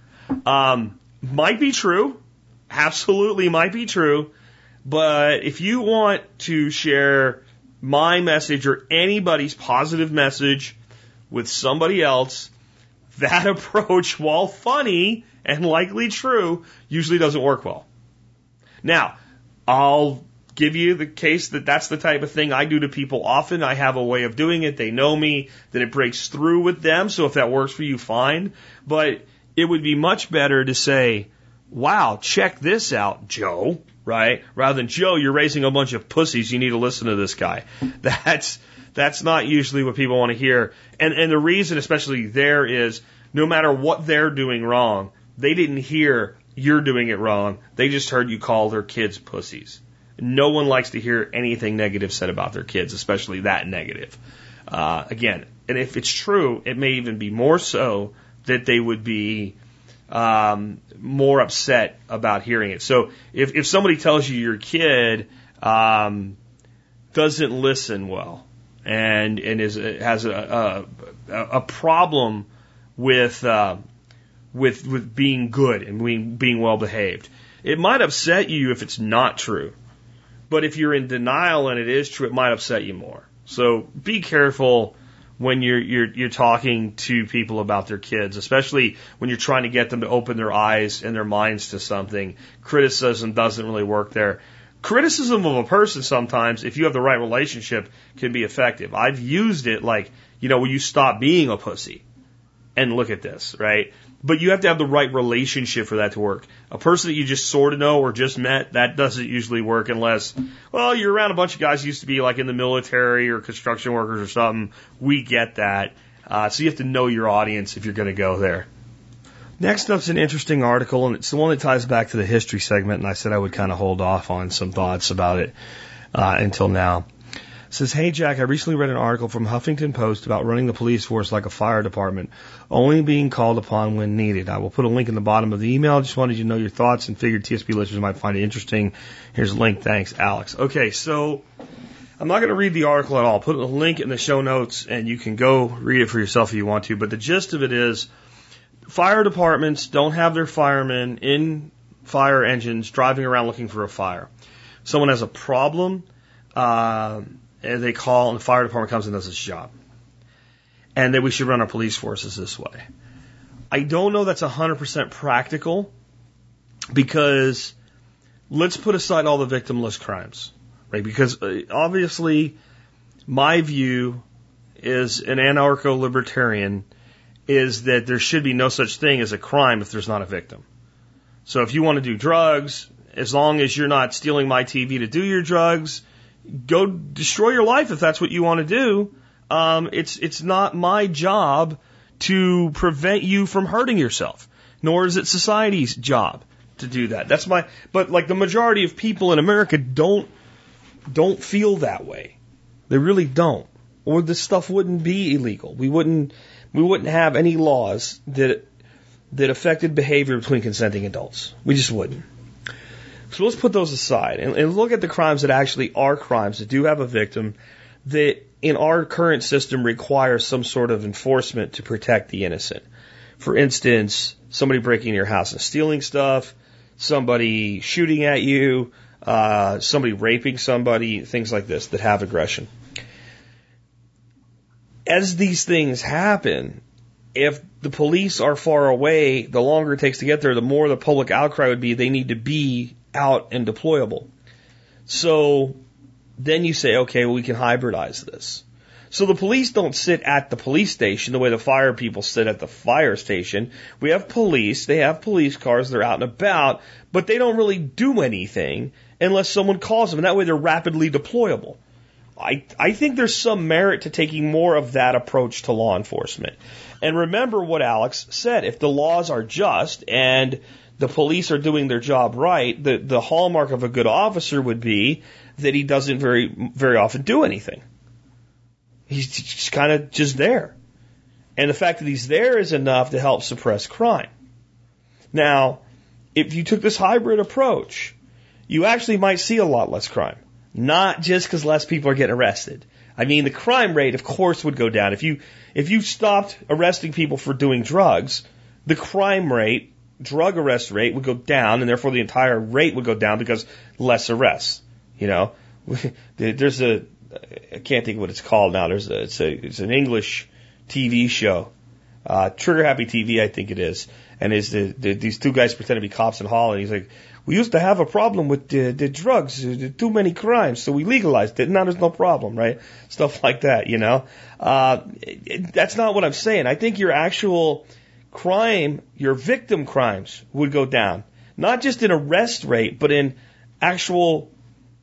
Might be true, absolutely might be true. But if you want to share my message or anybody's positive message with somebody else, that approach, while funny and likely true, usually doesn't work well. Now, I'll give you the case that that's the type of thing I do to people often. I have a way of doing it. They know me, that it breaks through with them. So if that works for you, fine. But it would be much better to say, wow, check this out, Joe. Right? Rather than, Joe, you're raising a bunch of pussies, you need to listen to this guy. That's not usually what people want to hear. And the reason, especially there, is no matter what they're doing wrong, they didn't hear you're doing it wrong. They just heard you call their kids pussies. No one likes to hear anything negative said about their kids, especially that negative. Again, and if it's true, it may even be more so that they would be more upset about hearing it. So if somebody tells you your kid doesn't listen well and has a problem with being good and being well behaved, it might upset you if it's not true. But if you're in denial and it is true, it might upset you more. So be careful when you're talking to people about their kids, especially when you're trying to get them to open their eyes and their minds to something. Criticism doesn't really work there. Criticism of a person sometimes, if you have the right relationship, can be effective. I've used it like, will you stop being a pussy? And look at this, right? But you have to have the right relationship for that to work. A person that you just sort of know or just met, that doesn't usually work unless, well, you're around a bunch of guys who used to be like in the military or construction workers or something. We get that. So you have to know your audience if you're going to go there. Next up's an interesting article, and it's the one that ties back to the history segment, and I said I would kind of hold off on some thoughts about it until now. It says, hey, Jack, I recently read an article from Huffington Post about running the police force like a fire department, only being called upon when needed. I will put a link in the bottom of the email. I just wanted you to know your thoughts and figured TSP listeners might find it interesting. Here's a link. Thanks, Alex. Okay, so I'm not going to read the article at all. I'll put a link in the show notes, and you can go read it for yourself if you want to. But the gist of it is fire departments don't have their firemen in fire engines driving around looking for a fire. If someone has a problem, they call and the fire department comes and does its job. And that we should run our police forces this way. I don't know that's 100% practical because let's put aside all the victimless crimes, right? Because obviously my view is an anarcho-libertarian is that there should be no such thing as a crime if there's not a victim. So if you want to do drugs, as long as you're not stealing my TV to do your drugs, go destroy your life if that's what you want to do. It's not my job to prevent you from hurting yourself, nor is it society's job to do that. But like the majority of people in America don't feel that way. They really don't. Or this stuff wouldn't be illegal. We wouldn't have any laws that affected behavior between consenting adults. We just wouldn't. So let's put those aside and look at the crimes that actually are crimes that do have a victim that in our current system require some sort of enforcement to protect the innocent. For instance, somebody breaking in your house and stealing stuff, somebody shooting at you, somebody raping somebody, things like this that have aggression. As these things happen, if the police are far away, the longer it takes to get there, the more the public outcry would be they need to be out and deployable. So then you say, okay, well, we can hybridize this. So the police don't sit at the police station the way the fire people sit at the fire station. We have police, they have police cars, they're out and about, but they don't really do anything unless someone calls them, and that way they're rapidly deployable. I think there's some merit to taking more of that approach to law enforcement. And remember what Alex said, if the laws are just and the police are doing their job right, the hallmark of a good officer would be that he doesn't very, very often do anything. He's just kind of just there. And the fact that he's there is enough to help suppress crime. Now, if you took this hybrid approach, you actually might see a lot less crime. Not just because less people are getting arrested. I mean, the crime rate, of course, would go down. If you stopped arresting people for doing drugs, the crime rate, drug arrest rate would go down, and therefore the entire rate would go down because less arrests. You know, there's I can't think of what it's called now. It's an English TV show, Trigger Happy TV, I think it is, and these two guys pretend to be cops in Holland. He's like, we used to have a problem with the drugs, too many crimes, so we legalized it. Now there's no problem, right? Stuff like that, you know. That's not what I'm saying. I think your actual crime, your victim crimes would go down. Not just in arrest rate, but in actual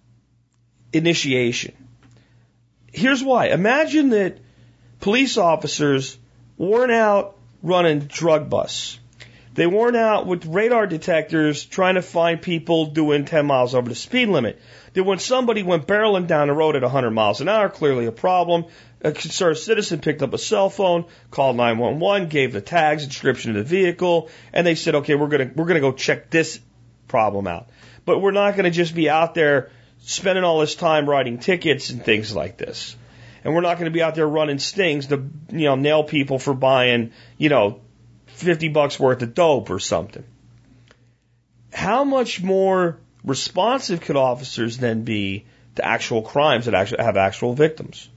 initiation. Here's why. Imagine that police officers weren't out running drug busts. They weren't out with radar detectors trying to find people doing 10 miles over the speed limit. That when somebody went barreling down the road at 100 miles an hour, clearly a problem, a concerned citizen picked up a cell phone, called 911, gave the tags, description of the vehicle, and they said, okay, we're gonna go check this problem out. But we're not gonna just be out there spending all this time writing tickets and things like this. And we're not gonna be out there running stings to, nail people for buying, $50 worth of dope or something. How much more responsive could officers then be to actual crimes that actually have actual victims?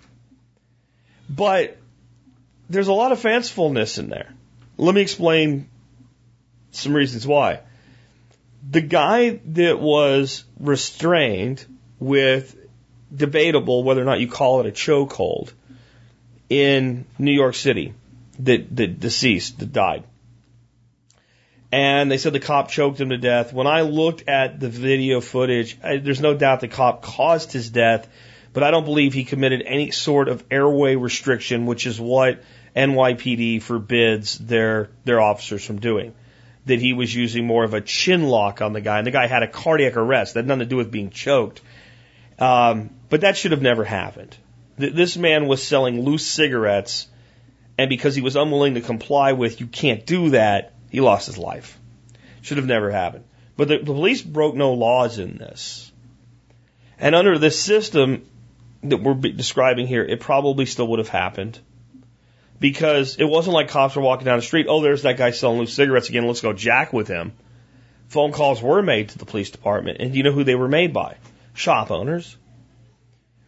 But there's a lot of fancifulness in there. Let me explain some reasons why. The guy that was restrained with debatable whether or not you call it a chokehold in New York City, that deceased, that died. And they said the cop choked him to death. When I looked at the video footage, there's no doubt the cop caused his death, but I don't believe he committed any sort of airway restriction, which is what NYPD forbids their officers from doing. That he was using more of a chin lock on the guy, and the guy had a cardiac arrest. That had nothing to do with being choked. But that should have never happened. This man was selling loose cigarettes, and because he was unwilling to comply with, you can't do that, he lost his life. Should have never happened. But the police broke no laws in this. And under this system that we're describing here, it probably still would have happened. Because it wasn't like cops were walking down the street, oh, there's that guy selling loose cigarettes again, let's go jack with him. Phone calls were made to the police department, and do you know who they were made by? Shop owners.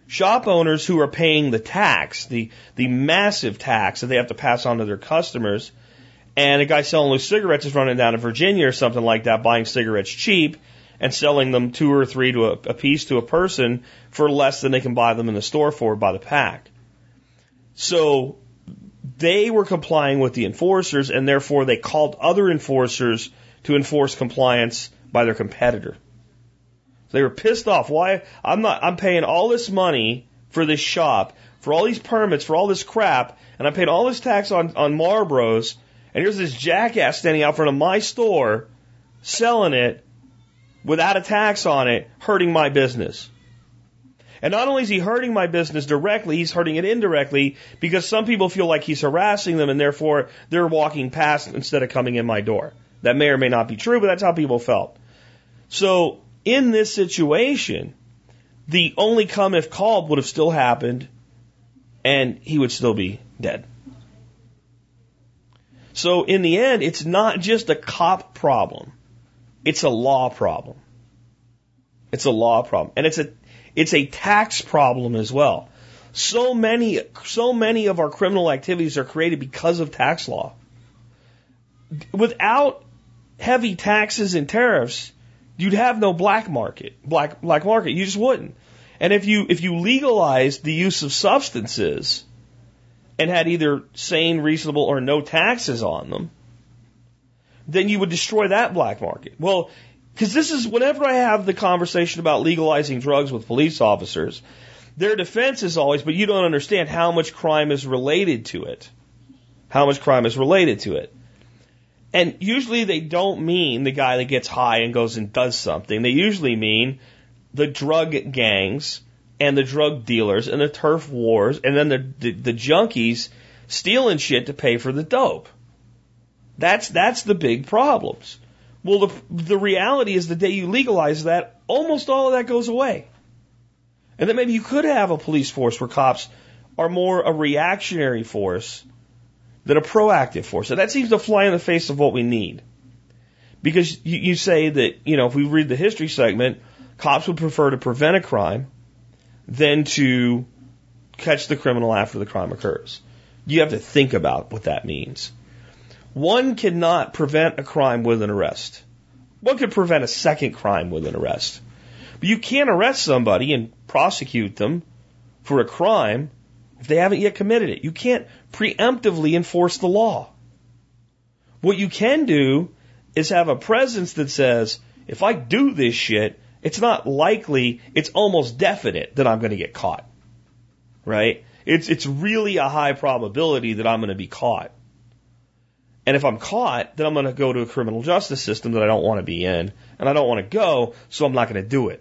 Shop owners who are paying the tax, the massive tax that they have to pass on to their customers, and a guy selling loose cigarettes is running down to Virginia or something like that, buying cigarettes cheap and selling them 2 or 3 to a piece to a person for less than they can buy them in the store for by the pack. So they were complying with the enforcers, and therefore they called other enforcers to enforce compliance by their competitor. They were pissed off. Why? I'm paying all this money for this shop, for all these permits, for all this crap, and I'm paying all this tax on Marlboros, and here's this jackass standing out front of my store selling it without a tax on it, hurting my business. And not only is he hurting my business directly, he's hurting it indirectly because some people feel like he's harassing them and therefore they're walking past instead of coming in my door. That may or may not be true, but that's how people felt. So in this situation, the only come if called would have still happened and he would still be dead. So in the end, it's not just a cop problem. It's a law problem. It's a law problem. And it's a tax problem as well. So many of our criminal activities are created because of tax law. Without heavy taxes and tariffs, you'd have no black market. Black market. You just wouldn't. And if you legalized the use of substances and had either sane, reasonable, or no taxes on them, then you would destroy that black market. Well, because this is, whenever I have the conversation about legalizing drugs with police officers, their defense is always, but you don't understand how much crime is related to it. How much crime is related to it. And usually they don't mean the guy that gets high and goes and does something. They usually mean the drug gangs and the drug dealers and the turf wars and then the junkies stealing shit to pay for the dope. That's the big problems. Well, the reality is the day you legalize that, almost all of that goes away. And then maybe you could have a police force where cops are more a reactionary force than a proactive force. And that seems to fly in the face of what we need. Because you say that, if we read the history segment, cops would prefer to prevent a crime than to catch the criminal after the crime occurs. You have to think about what that means. One cannot prevent a crime with an arrest. One could prevent a second crime with an arrest. But you can't arrest somebody and prosecute them for a crime if they haven't yet committed it. You can't preemptively enforce the law. What you can do is have a presence that says, if I do this shit, it's not likely, it's almost definite that I'm going to get caught. Right? It's really a high probability that I'm going to be caught. And if I'm caught, then I'm going to go to a criminal justice system that I don't want to be in, and I don't want to go, so I'm not going to do it.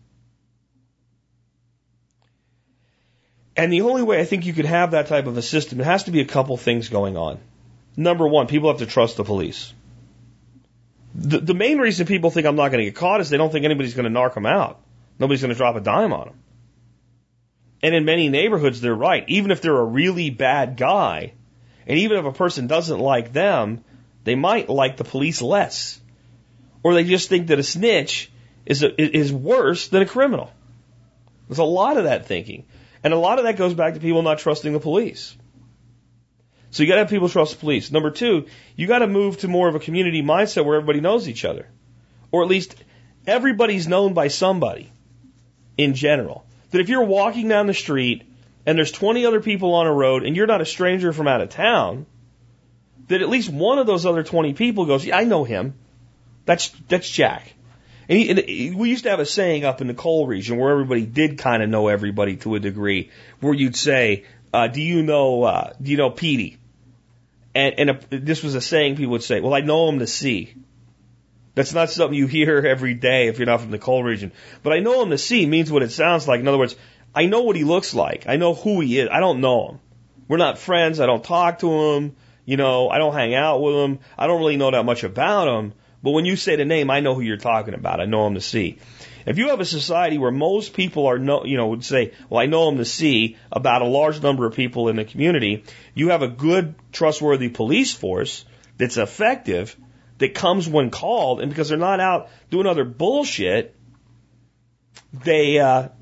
And the only way I think you could have that type of a system, it has to be a couple things going on. Number one, people have to trust the police. The main reason people think I'm not going to get caught is they don't think anybody's going to narc them out. Nobody's going to drop a dime on them. And in many neighborhoods, they're right. Even if they're a really bad guy, and even if a person doesn't like them, they might like the police less. Or they just think that a snitch is worse than a criminal. There's a lot of that thinking. And a lot of that goes back to people not trusting the police. So you got to have people trust the police. Number two, you got to move to more of a community mindset where everybody knows each other. Or at least everybody's known by somebody in general. That if you're walking down the street and there's 20 other people on a road and you're not a stranger from out of town, that at least one of those other 20 people goes, yeah, I know him. That's Jack. And we used to have a saying up in the coal region where everybody did kind of know everybody to a degree, where you'd say, do you know Petey? And this was a saying people would say, well, I know him to see. That's not something you hear every day if you're not from the coal region. But I know him to see means what it sounds like. In other words, I know what he looks like. I know who he is. I don't know him. We're not friends. I don't talk to him. I don't hang out with him. I don't really know that much about him. But when you say the name, I know who you're talking about. I know him to see. If you have a society where most people would say, well, I know him to see about a large number of people in the community, you have a good, trustworthy police force that's effective, that comes when called, and because they're not out doing other bullshit, they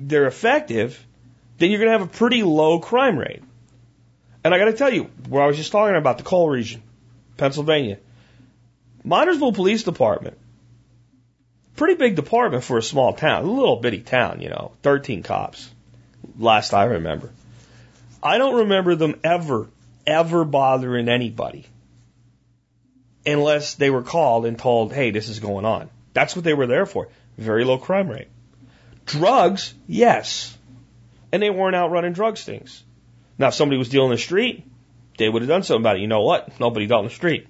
they're effective, then you're going to have a pretty low crime rate. And I got to tell you, where I was just talking about the coal region, Pennsylvania, Minersville Police Department, pretty big department for a small town, a little bitty town, 13 cops, last I remember. I don't remember them ever bothering anybody unless they were called and told, hey, this is going on. That's what they were there for. Very low crime rate. Drugs, yes. And they weren't out running drug stings. Now, if somebody was dealing in the street, they would have done something about it. You know what? Nobody dealt in the street.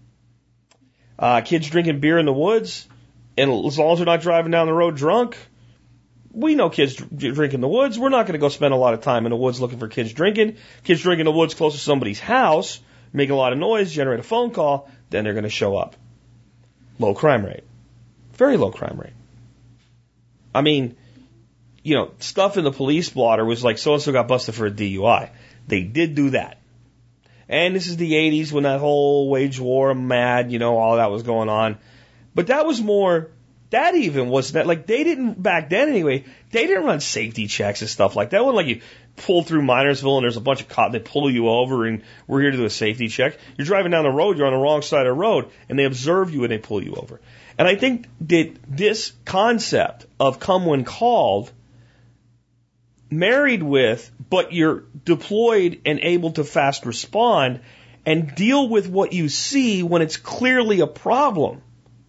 Kids drinking beer in the woods, and as long as they're not driving down the road drunk, we know kids drink in the woods. We're not going to go spend a lot of time in the woods looking for kids drinking. Kids drink in the woods close to somebody's house, make a lot of noise, generate a phone call, then they're going to show up. Low crime rate. Very low crime rate. I mean, stuff in the police blotter was like so-and-so got busted for a DUI. They did do that. And this is the 80s when that whole wage war, mad, all that was going on. But that was more, that even was that, like, they didn't, back then anyway, they didn't run safety checks and stuff like that. It wasn't like you pull through Minersville and there's a bunch of cops, they pull you over and we're here to do a safety check. You're driving down the road, you're on the wrong side of the road, and they observe you and they pull you over. And I think that this concept of come when called, married with, but you're deployed and able to fast respond and deal with what you see when it's clearly a problem.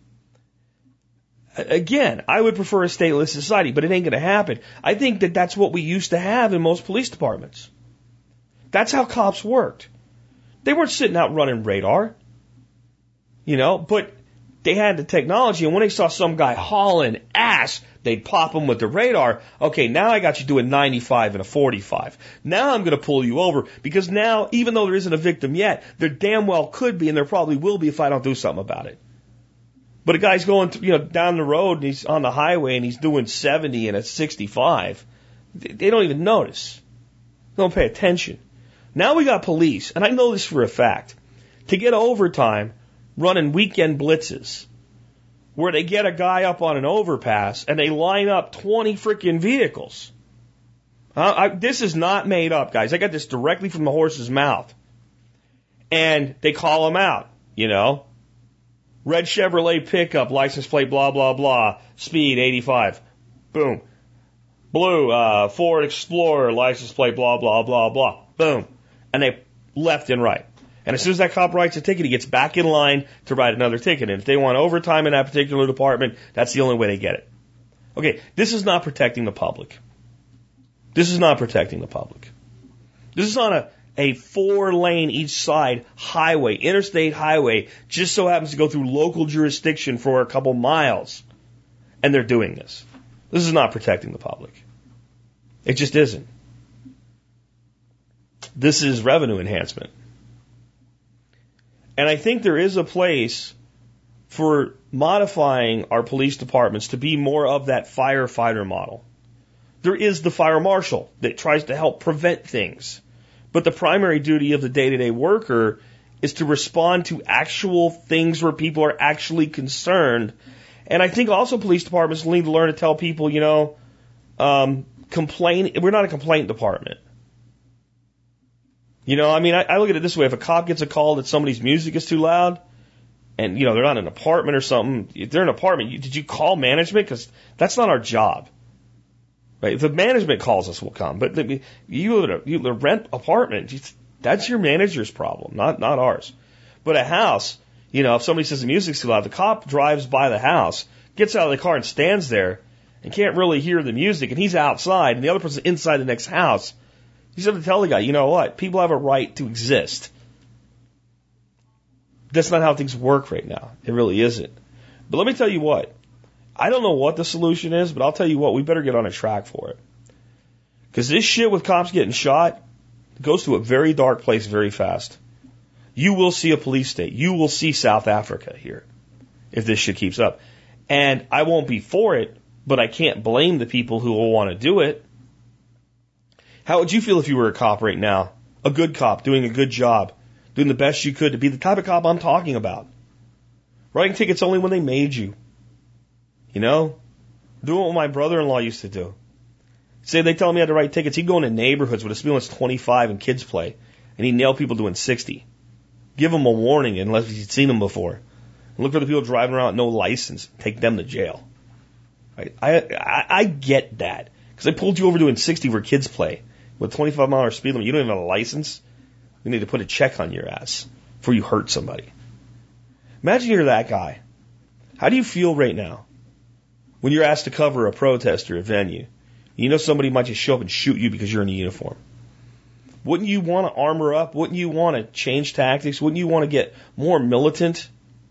Again, I would prefer a stateless society, but it ain't going to happen. I think that that's what we used to have in most police departments. That's how cops worked. They weren't sitting out running radar, but they had the technology, and when they saw some guy hauling ass, they'd pop him with the radar. Okay, now I got you doing 95 and a 45. Now I'm going to pull you over, because now, even though there isn't a victim yet, there damn well could be, and there probably will be if I don't do something about it. But a guy's going, down the road and he's on the highway and he's doing 70 and a 65. They don't even notice. They don't pay attention. Now we got police, and I know this for a fact, to get overtime running weekend blitzes where they get a guy up on an overpass and they line up 20 freaking vehicles. This is not made up, guys. I got this directly from the horse's mouth. And they call him out, Red Chevrolet pickup, license plate, blah, blah, blah, speed 85. Boom. Blue, Ford Explorer, license plate, blah, blah, blah, blah. Boom. And they left and right. And as soon as that cop writes a ticket, he gets back in line to write another ticket. And if they want overtime in that particular department, that's the only way they get it. Okay, this is not protecting the public. This is not protecting the public. This is on a 4-lane each side highway, interstate highway, just so happens to go through local jurisdiction for a couple miles. And they're doing this. This is not protecting the public. It just isn't. This is revenue enhancement. And I think there is a place for modifying our police departments to be more of that firefighter model. There is the fire marshal that tries to help prevent things. But the primary duty of the day-to-day worker is to respond to actual things where people are actually concerned. And I think also police departments need to learn to tell people, complain. We're not a complaint department. I look at it this way. If a cop gets a call that somebody's music is too loud and, they're not in an apartment or something, if they're in an apartment, did you call management? Because that's not our job. Right? If the management calls us, we'll come. But you rent apartment, that's your manager's problem, not ours. But a house, if somebody says the music's too loud, the cop drives by the house, gets out of the car and stands there and can't really hear the music, and he's outside, and the other person's inside the next house. He's going to tell the guy, you know what? People have a right to exist. That's not how things work right now. It really isn't. But let me tell you what. I don't know what the solution is, but I'll tell you what, we better get on a track for it. Because this shit with cops getting shot goes to a very dark place very fast. You will see a police state. You will see South Africa here if this shit keeps up. And I won't be for it, but I can't blame the people who will want to do it. How would you feel if you were a cop right now? A good cop, doing a good job, doing the best you could to be the type of cop I'm talking about. Writing tickets only when they made you. Doing what my brother-in-law used to do. Say they tell him he had to write tickets. He'd go into neighborhoods with a speed limit 25 and kids play, and he'd nail people doing 60. Give them a warning unless he'd seen them before. And look for the people driving around with no license. Take them to jail. Right? I get that. Because they pulled you over doing 60 where kids play. With a 25-mile speed limit, you don't even have a license. We need to put a check on your ass before you hurt somebody. Imagine you're that guy. How do you feel right now when you're asked to cover a protest or a venue? You know somebody might just show up and shoot you because you're in a uniform. Wouldn't you want to armor up? Wouldn't you want to change tactics? Wouldn't you want to get more militant?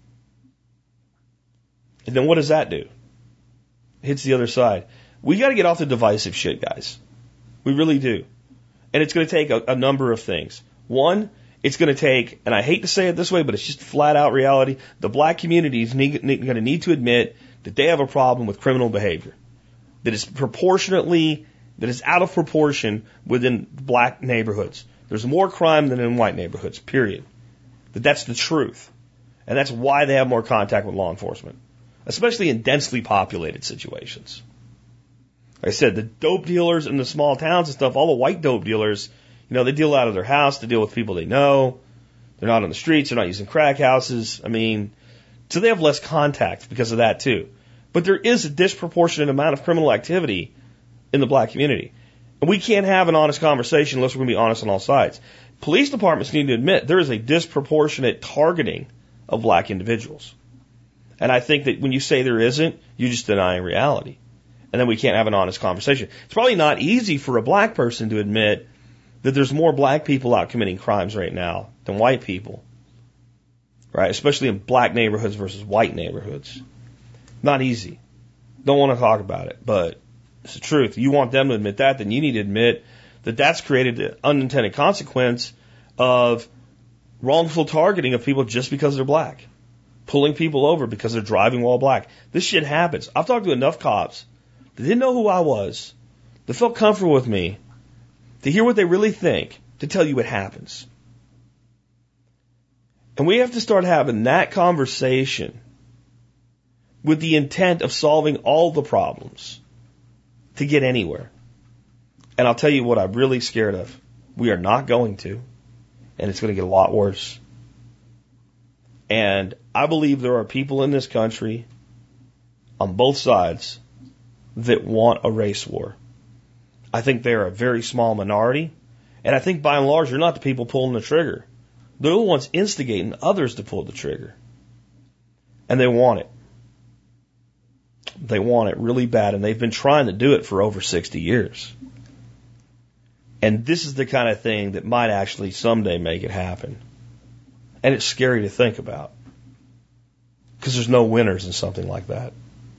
And then what does that do? It hits the other side. We got to get off the divisive shit, guys. We really do. And it's going to take a number of things. One, it's going to take, and I hate to say it this way, but it's just flat out reality, the black community is going to need to admit that they have a problem with criminal behavior. That is out of proportion within black neighborhoods. There's more crime than in white neighborhoods, period. That's the truth. And that's why they have more contact with law enforcement, especially in densely populated situations. Like I said, the dope dealers in the small towns and stuff, all the white dope dealers, they deal out of their house, they deal with people they know. They're not on the streets, they're not using crack houses. So they have less contact because of that too. But there is a disproportionate amount of criminal activity in the black community. And we can't have an honest conversation unless we're going to be honest on all sides. Police departments need to admit there is a disproportionate targeting of black individuals. And I think that when you say there isn't, you're just denying reality. And then we can't have an honest conversation. It's probably not easy for a black person to admit that there's more black people out committing crimes right now than white people. Right? Especially in black neighborhoods versus white neighborhoods. Not easy. Don't want to talk about it, but it's the truth. You want them to admit that, then you need to admit that that's created an unintended consequence of wrongful targeting of people just because they're black. Pulling people over because they're driving while black. This shit happens. I've talked to enough cops that didn't know who I was, that felt comfortable with me, to hear what they really think, to tell you it happens. And we have to start having that conversation with the intent of solving all the problems to get anywhere. And I'll tell you what I'm really scared of. We are not going to. And it's going to get a lot worse. And I believe there are people in this country on both sides that want a race war. I think they're a very small minority. And I think by and large, they're not the people pulling the trigger. They're the ones instigating others to pull the trigger. And they want it. They want it really bad. And they've been trying to do it for over 60 years. And this is the kind of thing that might actually someday make it happen. And it's scary to think about. Because there's no winners in something like that.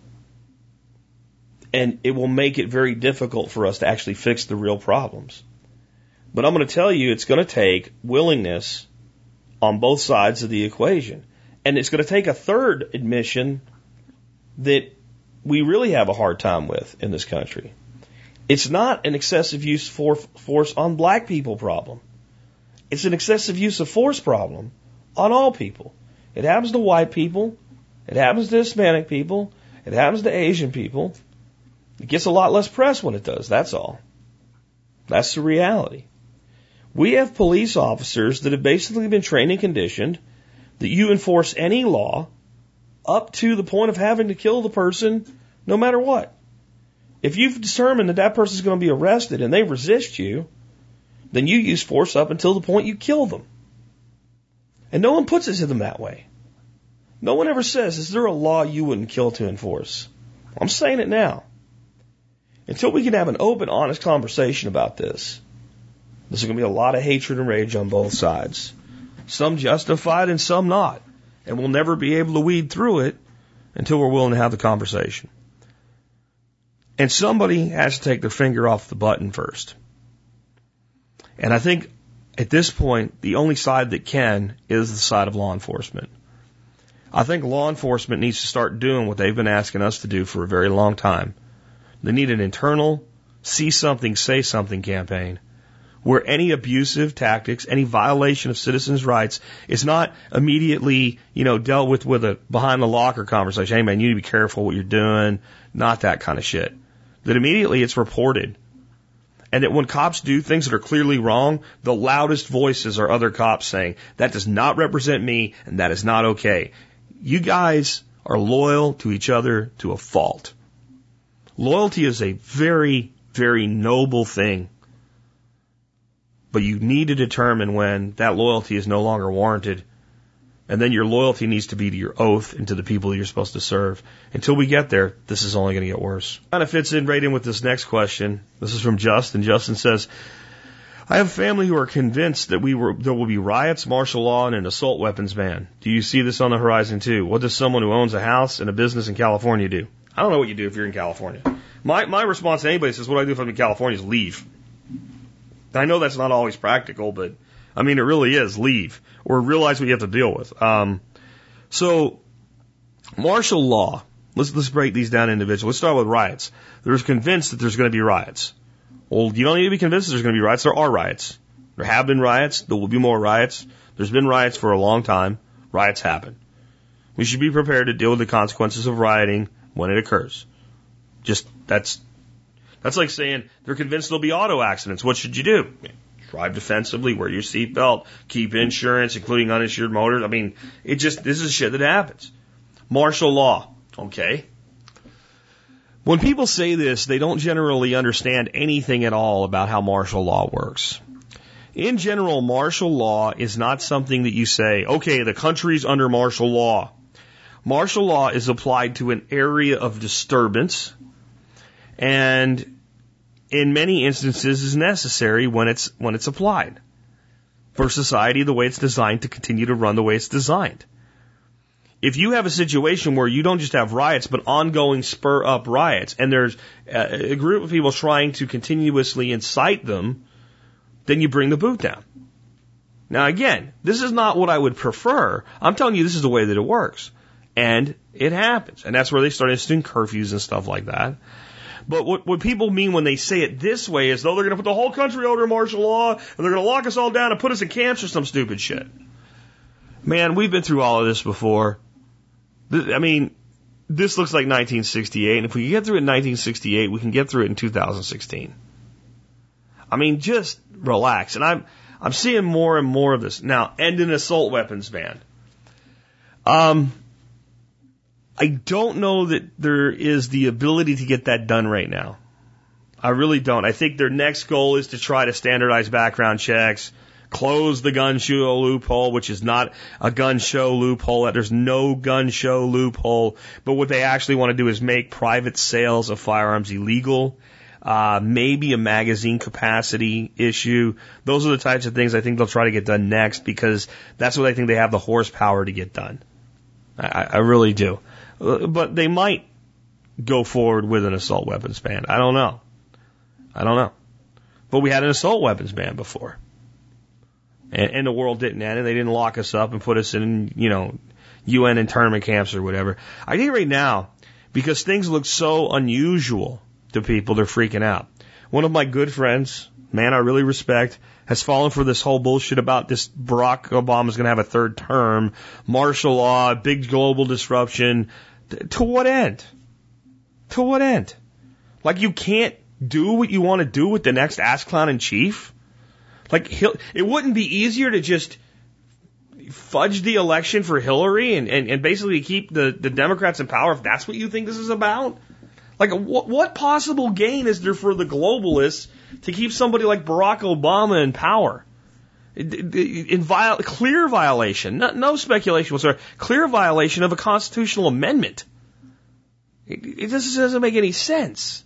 And it will make it very difficult for us to actually fix the real problems. But I'm going to tell you, it's going to take willingness on both sides of the equation. And it's going to take a third admission that we really have a hard time with in this country. It's not an excessive use of force on black people problem. It's an excessive use of force problem on all people. It happens to white people. It happens to Hispanic people. It happens to Asian people. It gets a lot less press when it does, that's all. That's the reality. We have police officers that have basically been trained and conditioned that you enforce any law up to the point of having to kill the person no matter what. If you've determined that that person is going to be arrested and they resist you, then you use force up until the point you kill them. And no one puts it to them that way. No one ever says, is there a law you wouldn't kill to enforce? I'm saying it now. Until we can have an open, honest conversation about this, there's going to be a lot of hatred and rage on both sides. Some justified and some not. And we'll never be able to weed through it until we're willing to have the conversation. And somebody has to take their finger off the button first. And I think at this point, the only side that can is the side of law enforcement. I think law enforcement needs to start doing what they've been asking us to do for a very long time. They need an internal see something, say something campaign where any abusive tactics, any violation of citizens' rights is not immediately, dealt with a behind the locker conversation. Hey man, you need to be careful what you're doing. Not that kind of shit. That immediately it's reported And that when cops do things that are clearly wrong, the loudest voices are other cops saying, that does not represent me and that is not okay. You guys are loyal to each other to a fault. Loyalty is a very, very noble thing. But you need to determine when that loyalty is no longer warranted. And then your loyalty needs to be to your oath and to the people you're supposed to serve. Until we get there, this is only going to get worse. Kind of fits in right in with this next question. This is from Justin. Justin says, I have family who are convinced that there will be riots, martial law, and an assault weapons ban. Do you see this on the horizon too? What does someone who owns a house and a business in California do? I don't know what you do if you're in California. My response to anybody says, what do I do if I'm in California is leave. I know that's not always practical, but I mean, it really is. Leave. Or realize what you have to deal with. So, martial law. Let's break these down individually. Let's start with riots. They're convinced that there's going to be riots. Well, you don't need to be convinced that there's going to be riots. There are riots. There have been riots. There will be more riots. There's been riots for a long time. Riots happen. We should be prepared to deal with the consequences of rioting when it occurs. That's like saying they're convinced there'll be auto accidents. What should you do? Drive defensively, wear your seatbelt, keep insurance, including uninsured motors. I mean, this is shit that happens. Martial law. Okay. When people say this, they don't generally understand anything at all about how martial law works. In general, martial law is not something that you say, okay, the country's under martial law. Martial law is applied to an area of disturbance, and in many instances is necessary when it's applied for society the way it's designed to continue to run the way it's designed. If you have a situation where you don't just have riots, but ongoing spur up riots, and there's a group of people trying to continuously incite them, then you bring the boot down. Now again, this is not what I would prefer. I'm telling you this is the way that it works. And it happens. And that's where they start instituting curfews and stuff like that. But what people mean when they say it this way is, though, they're going to put the whole country under martial law, and they're going to lock us all down and put us in camps or some stupid shit. Man, we've been through all of this before. I mean, this looks like 1968, and if we can get through it in 1968, we can get through it in 2016. I mean, just relax. And I'm seeing more and more of this. Now, end an assault weapons ban. I don't know that there is the ability to get that done right now. I really don't. I think their next goal is to try to standardize background checks, close the gun show loophole, which is not a gun show loophole. There's no gun show loophole. But what they actually want to do is make private sales of firearms illegal. Maybe a magazine capacity issue. Those are the types of things I think they'll try to get done next, because that's what I think they have the horsepower to get done. I really do. But they might go forward with an assault weapons ban. I don't know. But we had an assault weapons ban before. And the world didn't end, and they didn't lock us up and put us in, UN internment camps or whatever. I think right now, because things look so unusual to people, they're freaking out. One of my good friends, man I really respect, has fallen for this whole bullshit about this Barack Obama's going to have a third term, martial law, big global disruption. To what end? To what end? Like, you can't do what you want to do with the next ass clown in chief? Like, it wouldn't be easier to just fudge the election for Hillary and basically keep the Democrats in power if that's what you think this is about? Like, what possible gain is there for the globalists to keep somebody like Barack Obama in power? Clear violation, no speculation whatsoever, clear violation of a constitutional amendment. It just doesn't make any sense.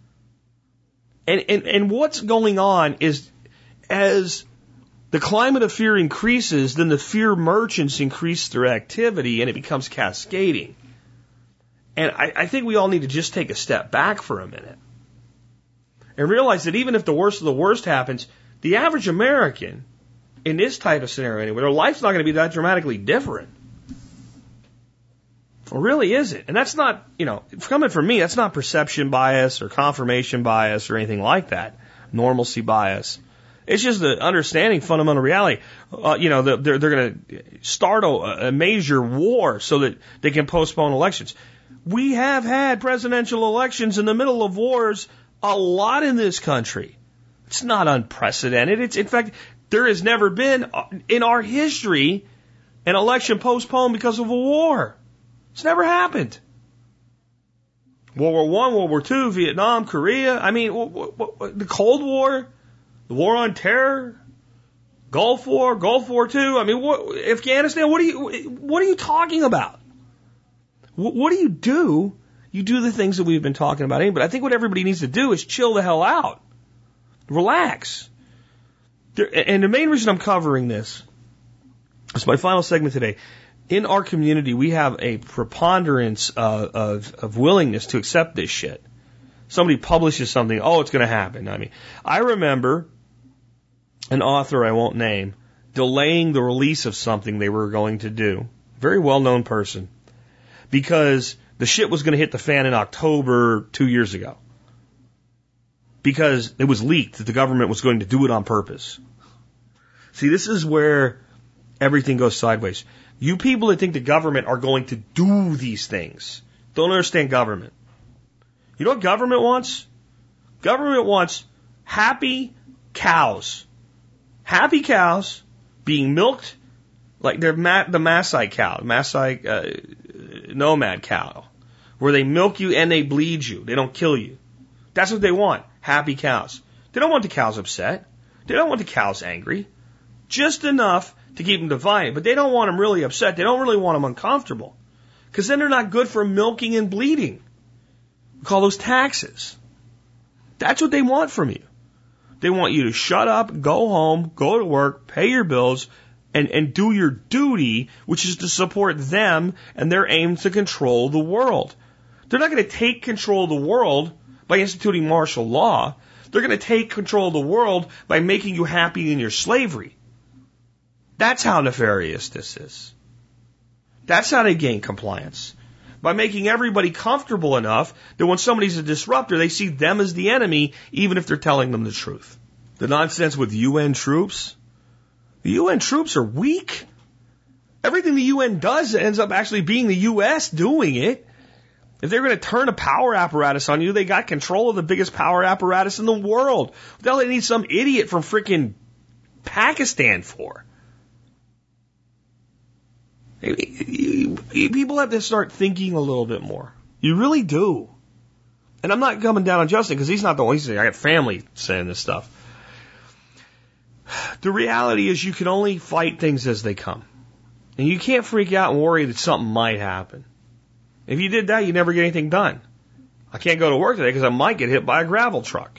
And what's going on is, as the climate of fear increases, then the fear merchants increase their activity, and it becomes cascading. And I think we all need to just take a step back for a minute and realize that even if the worst of the worst happens, the average American, in this type of scenario anyway, their life's not going to be that dramatically different. Or really is it? And that's not, coming from me, that's not perception bias or confirmation bias or anything like that. Normalcy bias. It's just the understanding fundamental reality. They're going to start a major war so that they can postpone elections. We have had presidential elections in the middle of wars a lot in this country. It's not unprecedented. In fact, there has never been in our history an election postponed because of a war. It's never happened. World War I, World War II, Vietnam, Korea. I mean, the Cold War, the War on Terror, Gulf War II. I mean, Afghanistan. What are you talking about? What do? You do the things that we've been talking about. But I think what everybody needs to do is chill the hell out, relax. And the main reason I'm covering this is my final segment today. In our community, we have a preponderance of willingness to accept this shit. Somebody publishes something, oh, it's going to happen. I mean, I remember an author I won't name delaying the release of something they were going to do. Very well-known person. Because the shit was going to hit the fan in October 2 years ago. Because it was leaked that the government was going to do it on purpose. See, this is where everything goes sideways. You people that think the government are going to do these things don't understand government. You know what government wants? Government wants happy cows. Happy cows being milked like they're the Maasai cow, nomad cow, where they milk you and they bleed you. They don't kill you. That's what they want. Happy cows. They don't want the cows upset. They don't want the cows angry. Just enough to keep them defiant, but they don't want them really upset. They don't really want them uncomfortable, because then they're not good for milking and bleeding. We call those taxes. That's what they want from you. They want you to shut up, go home, go to work, pay your bills, and do your duty, which is to support them and their aim to control the world. They're not going to take control of the world by instituting martial law. They're going to take control of the world by making you happy in your slavery. That's how nefarious this is. That's how they gain compliance. By making everybody comfortable enough that when somebody's a disruptor, they see them as the enemy, even if they're telling them the truth. The nonsense with UN troops. The UN troops are weak. Everything the UN does ends up actually being the U.S. doing it. If they're going to turn a power apparatus on you, they got control of the biggest power apparatus in the world. What the hell do they need some idiot from freaking Pakistan for? People have to start thinking a little bit more. You really do. And I'm not coming down on Justin because he's not the one. He's saying, I got family saying this stuff. The reality is you can only fight things as they come. And you can't freak out and worry that something might happen. If you did that, you'd never get anything done. I can't go to work today because I might get hit by a gravel truck.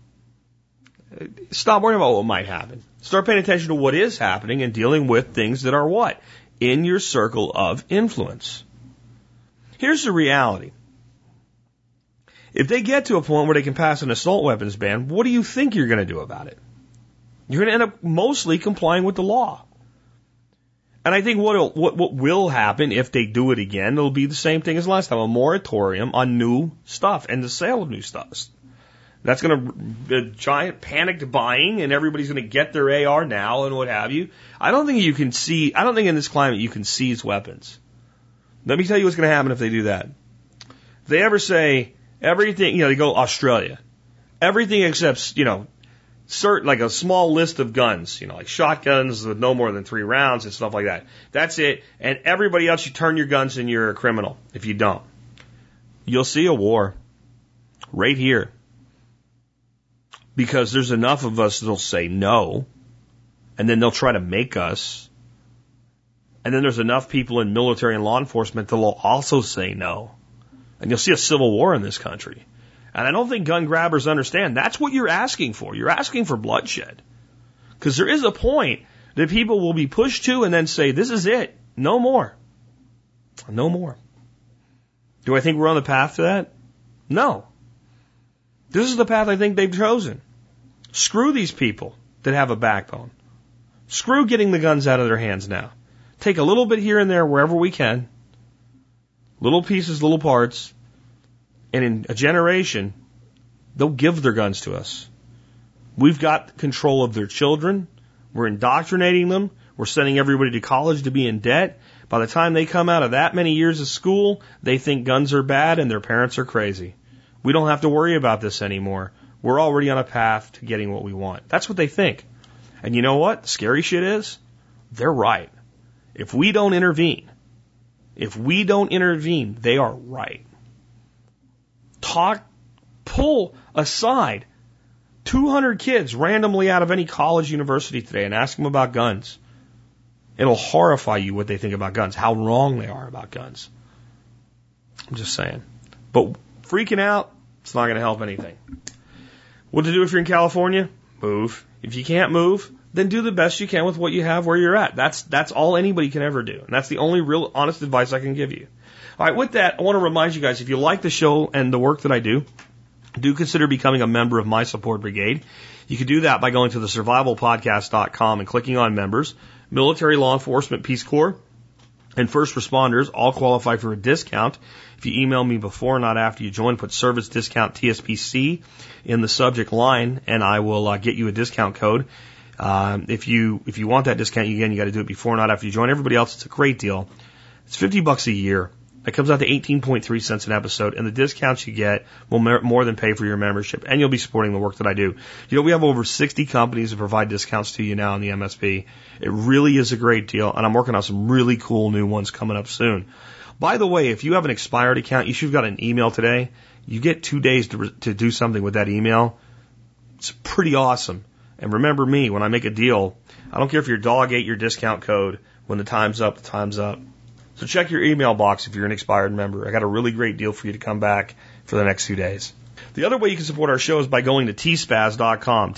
Stop worrying about what might happen. Start paying attention to what is happening and dealing with things that are what? In your circle of influence. Here's the reality. If they get to a point where they can pass an assault weapons ban, what do you think you're going to do about it? You're going to end up mostly complying with the law. And I think what will happen if they do it again, it'll be the same thing as last time, a moratorium on new stuff and the sale of new stuff. That's going to be a giant panicked buying, and everybody's going to get their AR now and what have you. I don't think in this climate you can seize weapons. Let me tell you what's going to happen if they do that. If they ever say everything, they go Australia, everything except, certain, like a small list of guns, like shotguns with no more than 3 rounds and stuff like that. That's it. And everybody else, you turn your guns and you're a criminal if you don't. You'll see a war right here. Because there's enough of us that'll say no, and then they'll try to make us. And then there's enough people in military and law enforcement that will also say no. And you'll see a civil war in this country. And I don't think gun grabbers understand. That's what you're asking for. You're asking for bloodshed. Because there is a point that people will be pushed to and then say, this is it. No more. No more. Do I think we're on the path to that? No. This is the path I think they've chosen. Screw these people that have a backbone. Screw getting the guns out of their hands now. Take a little bit here and there wherever we can. Little pieces, little parts. And in a generation, they'll give their guns to us. We've got control of their children. We're indoctrinating them. We're sending everybody to college to be in debt. By the time they come out of that many years of school, they think guns are bad and their parents are crazy. We don't have to worry about this anymore. We're already on a path to getting what we want. That's what they think. And you know what? The scary shit is, they're right. If we don't intervene, they are right. Pull aside 200 kids randomly out of any college, university today and ask them about guns. It'll horrify you what they think about guns, how wrong they are about guns. I'm just saying. But freaking out, it's not going to help anything. What to do if you're in California? Move. If you can't move, then do the best you can with what you have where you're at. That's all anybody can ever do. And that's the only real honest advice I can give you. All right, with that, I want to remind you guys, if you like the show and the work that I do consider becoming a member of my support brigade. You can do that by going to the survivalpodcast.com and clicking on members. Military, law enforcement, Peace Corps, and first responders all qualify for a discount. If you email me before, not after you join, put service discount TSPC in the subject line, and I will get you a discount code. If you want that discount, you got to do it before, not after you join. Everybody else, it's a great deal. It's $50 a year. It comes out to 18.3 cents an episode, and the discounts you get will more than pay for your membership, and you'll be supporting the work that I do. You know, we have over 60 companies that provide discounts to you now in the MSP. It really is a great deal, and I'm working on some really cool new ones coming up soon. By the way, if you have an expired account, you should have got an email today. You get 2 days to do something with that email. It's pretty awesome. And remember me, when I make a deal, I don't care if your dog ate your discount code. When the time's up, the time's up. So check your email box if you're an expired member. I got a really great deal for you to come back for the next 2 days. The other way you can support our show is by going to tspaz.com,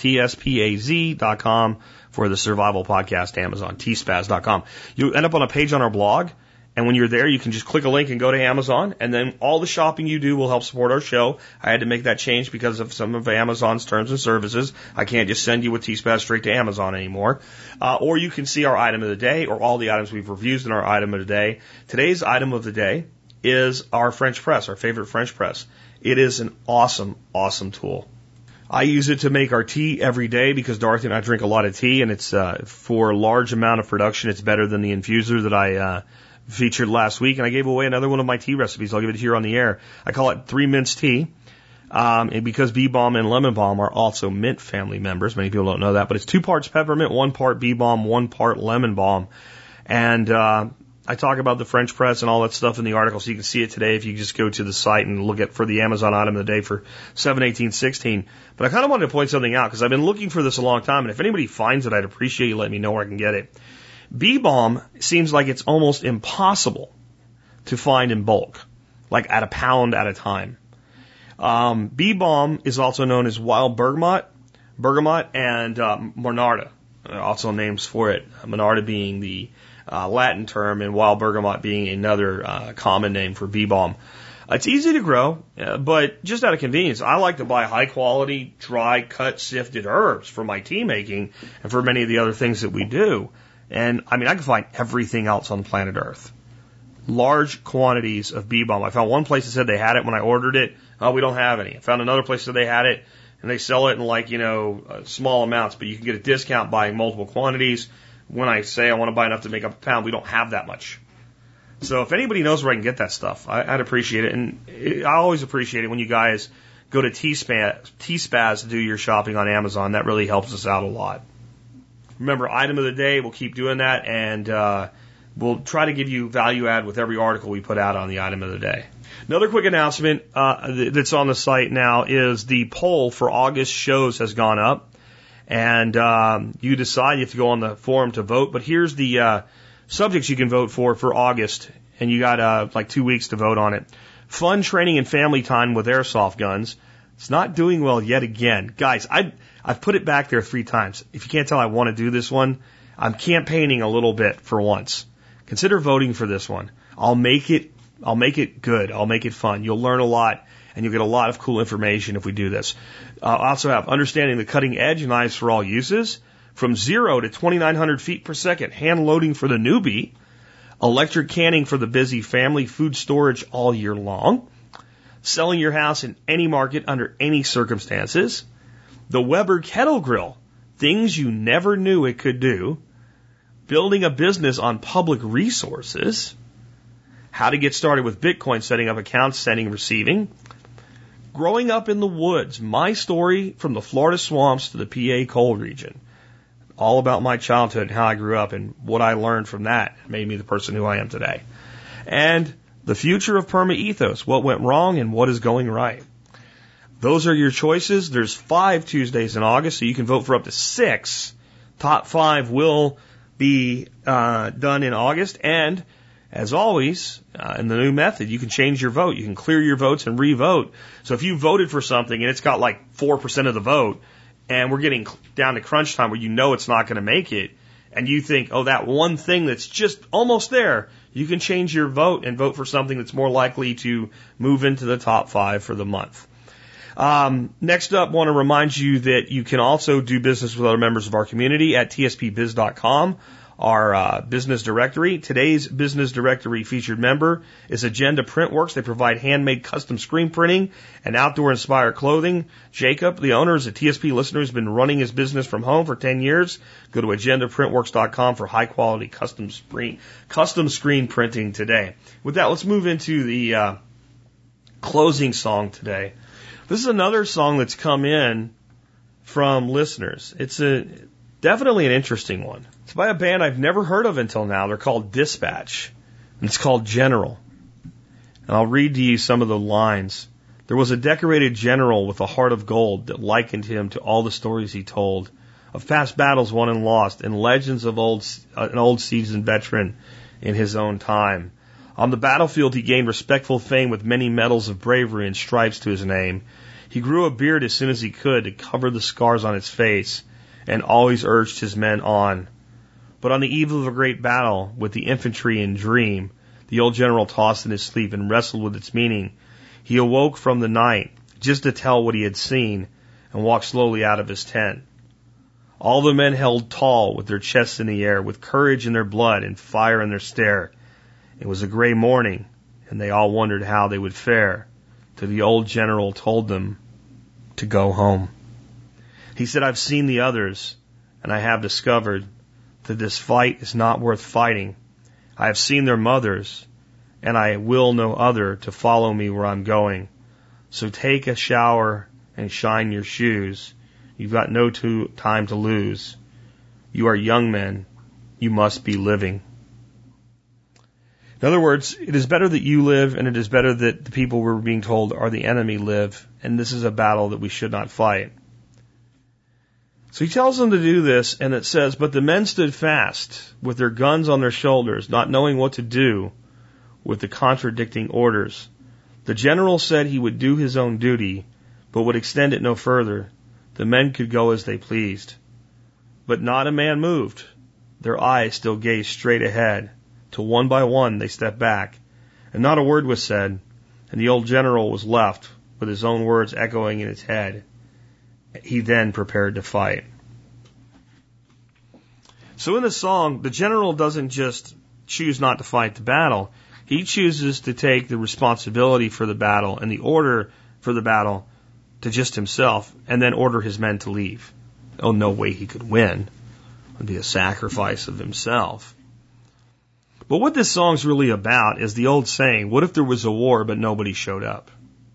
TSPAZ.com for the Survival Podcast Amazon, tspaz.com. You end up on a page on our blog, and when you're there, you can just click a link and go to Amazon, and then all the shopping you do will help support our show. I had to make that change because of some of Amazon's terms and services. I can't just send you with T-Spaz straight to Amazon anymore. Or you can see our item of the day or all the items we've reviewed in our item of the day. Today's item of the day is our French press, our favorite French press. It is an awesome, awesome tool. I use it to make our tea every day because Dorothy and I drink a lot of tea, and it's for a large amount of production. It's better than the infuser that I featured last week, and I gave away another one of my tea recipes. I'll give it here on the air. I call it 3 Mints Tea, and because Bee Balm and Lemon Balm are also mint family members. Many people don't know that, but it's 2 parts peppermint, 1 part Bee Balm, 1 part Lemon Balm. And I talk about the French press and all that stuff in the article, so you can see it today if you just go to the site and look at for the Amazon item of the day for 7/18/16. But I kind of wanted to point something out because I've been looking for this a long time, and if anybody finds it, I'd appreciate you letting me know where I can get it. Bee Balm seems like it's almost impossible to find in bulk, like at a pound at a time. Bee Balm is also known as wild bergamot, and monarda, also names for it. Monarda being the Latin term, and wild bergamot being another common name for Bee Balm. It's easy to grow, but just out of convenience, I like to buy high quality, dry, cut, sifted herbs for my tea making and for many of the other things that we do. And I mean, I can find everything else on planet Earth. Large quantities of Bee Balm. I found one place that said they had it when I ordered it. Oh, we don't have any. I found another place that they had it, and they sell it in small amounts, but you can get a discount buying multiple quantities. When I say I want to buy enough to make up a pound, we don't have that much. So if anybody knows where I can get that stuff, I'd appreciate it. And I always appreciate it when you guys go to T-Spaz to do your shopping on Amazon. That really helps us out a lot. Remember, item of the day, we'll keep doing that, and we'll try to give you value add with every article we put out on the item of the day. Another quick announcement that's on the site now is the poll for August shows has gone up, and you decide. You have to go on the forum to vote, but here's the subjects you can vote for August, and you got 2 weeks to vote on it. Fun training and family time with airsoft guns. It's not doing well yet again. Guys, I've put it back there 3 times. If you can't tell, I want to do this one. I'm campaigning a little bit for once. Consider voting for this one. I'll make it good. I'll make it fun. You'll learn a lot, and you'll get a lot of cool information if we do this. I also have understanding the cutting edge knives for all uses, from 0 to 2,900 feet per second, hand loading for the newbie, electric canning for the busy family, food storage all year long, selling your house in any market under any circumstances, the Weber Kettle Grill, things you never knew it could do, building a business on public resources, how to get started with Bitcoin, setting up accounts, sending, receiving, Growing up in the woods, my story from the Florida swamps to the PA coal region, all about my childhood and how I grew up and what I learned from that made me the person who I am today. And the future of Perma Ethos, what went wrong and what is going right. Those are your choices. There's 5 Tuesdays in August, so you can vote for up to 6. Top 5 will be done in August. And as always, in the new method, you can change your vote. You can clear your votes and re-vote. So if you voted for something and it's got like 4% of the vote, and we're getting down to crunch time where you know it's not going to make it, and you think, oh, that one thing that's just almost there, you can change your vote and vote for something that's more likely to move into the top 5 for the month. Next up, want to remind you that you can also do business with other members of our community at tspbiz.com, our business directory. Today's business directory featured member is Agenda Printworks. They provide handmade custom screen printing and outdoor-inspired clothing. Jacob, the owner, is a TSP listener who's been running his business from home for 10 years. Go to agendaprintworks.com for high-quality custom screen printing today. With that, let's move into the closing song today. This is another song that's come in from listeners. It's definitely an interesting one. It's by a band I've never heard of until now. They're called Dispatch, and it's called General. And I'll read to you some of the lines. There was a decorated general with a heart of gold that likened him to all the stories he told, of past battles won and lost, and legends of an old seasoned veteran in his own time. On the battlefield, he gained respectful fame with many medals of bravery and stripes to his name. He grew a beard as soon as he could to cover the scars on his face, and always urged his men on. But on the eve of a great battle with the infantry in Dream, the old general tossed in his sleep and wrestled with its meaning. He awoke from the night just to tell what he had seen and walked slowly out of his tent. All the men held tall with their chests in the air, with courage in their blood and fire in their stare. It was a gray morning, and they all wondered how they would fare, till the old general told them to go home. He said, I've seen the others, and I have discovered that this fight is not worth fighting. I have seen their mothers, and I will no other to follow me where I'm going. So take a shower and shine your shoes. You've got no time to lose. You are young men. You must be living. In other words, it is better that you live, and it is better that the people we're being told are the enemy live, and this is a battle that we should not fight. So he tells them to do this, and it says, but the men stood fast, with their guns on their shoulders, not knowing what to do with the contradicting orders. The general said he would do his own duty, but would extend it no further. The men could go as they pleased. But not a man moved. Their eyes still gazed straight ahead, till one by one they stepped back, and not a word was said, and the old general was left with his own words echoing in his head. He then prepared to fight. So in the song, the general doesn't just choose not to fight the battle. He chooses to take the responsibility for the battle and the order for the battle to just himself, and then order his men to leave. Oh, no way he could win. It would be a sacrifice of himself. But what this song's really about is the old saying, what if there was a war but nobody showed up?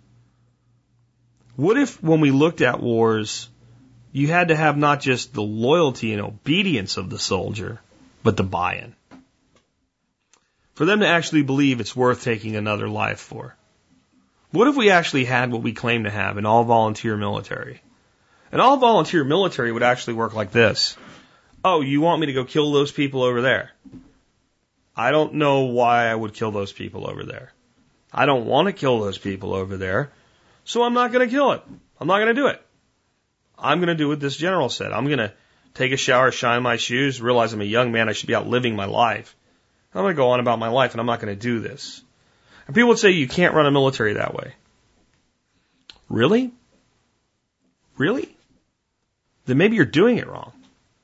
What if, when we looked at wars, you had to have not just the loyalty and obedience of the soldier, but the buy-in? For them to actually believe it's worth taking another life for. What if we actually had what we claim to have, an all-volunteer military? An all-volunteer military would actually work like this. Oh, you want me to go kill those people over there? I don't know why I would kill those people over there. I don't want to kill those people over there. So I'm not going to kill it. I'm not going to do it. I'm going to do what this general said. I'm going to take a shower, shine my shoes, realize I'm a young man. I should be out living my life. I'm going to go on about my life, and I'm not going to do this. And people would say you can't run a military that way. Really? Really? Then maybe you're doing it wrong.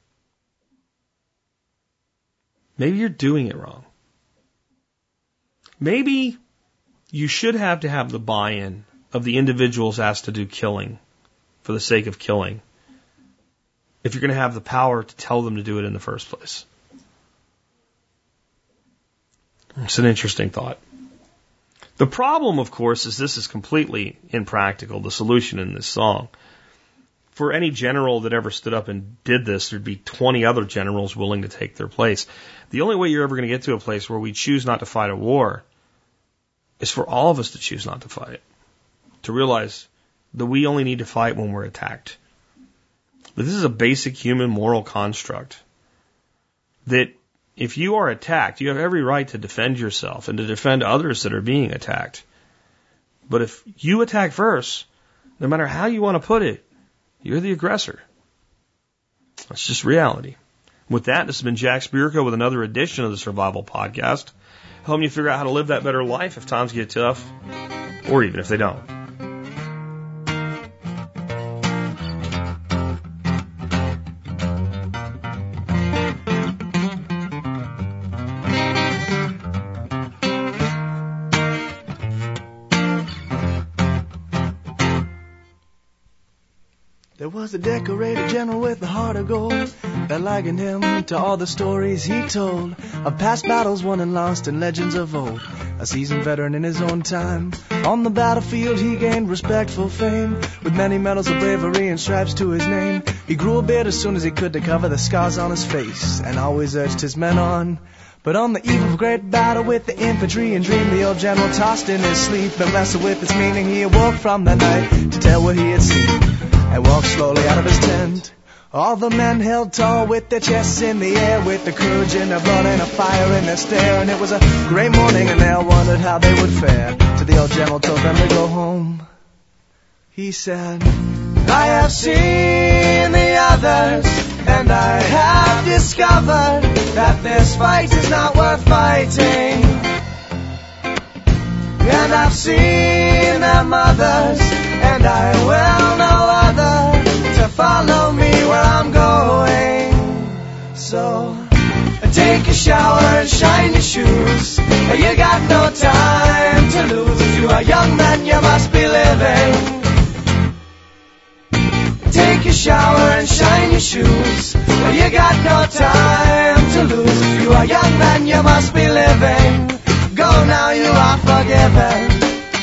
Maybe you're doing it wrong. Maybe you should have to have the buy-in of the individuals asked to do killing for the sake of killing, if you're going to have the power to tell them to do it in the first place. It's an interesting thought. The problem, of course, is this is completely impractical, the solution in this song. For any general that ever stood up and did this, there'd be 20 other generals willing to take their place. The only way you're ever going to get to a place where we choose not to fight a war is for all of us to choose not to fight it. To realize that we only need to fight when we're attacked. But this is a basic human moral construct. That if you are attacked, you have every right to defend yourself and to defend others that are being attacked. But if you attack first, no matter how you want to put it, you're the aggressor. That's just reality. With that, this has been Jack Spirko with another edition of the Survival Podcast, helping you figure out how to live that better life if times get tough, or even if they don't. There was a decorated general with a heart of gold that likened him to all the stories he told of past battles won and lost and legends of old. A seasoned veteran in his own time. On the battlefield he gained respectful fame, with many medals of bravery and stripes to his name. He grew a beard as soon as he could to cover the scars on his face, and always urged his men on. But on the eve of a great battle with the infantry and dream, the old general tossed in his sleep and wrestled with its meaning. He awoke from the night to tell what he had seen, and walked slowly out of his tent. All the men held tall with their chests in the air, with the courage in their blood and a fire in their stare. And it was a great morning and they all wondered how they would fare, till the old general told them to go home. He said, I have seen the others, and I have discovered that this fight is not worth fighting. And I've seen their mothers, and I will know other to follow me where I'm going. So take a shower and shine your shoes. You got no time to lose. If you are young, then you must be living. Take a shower and shine your shoes. You got no time to lose. If you are young, then you must be living. Go now, you are forgiven.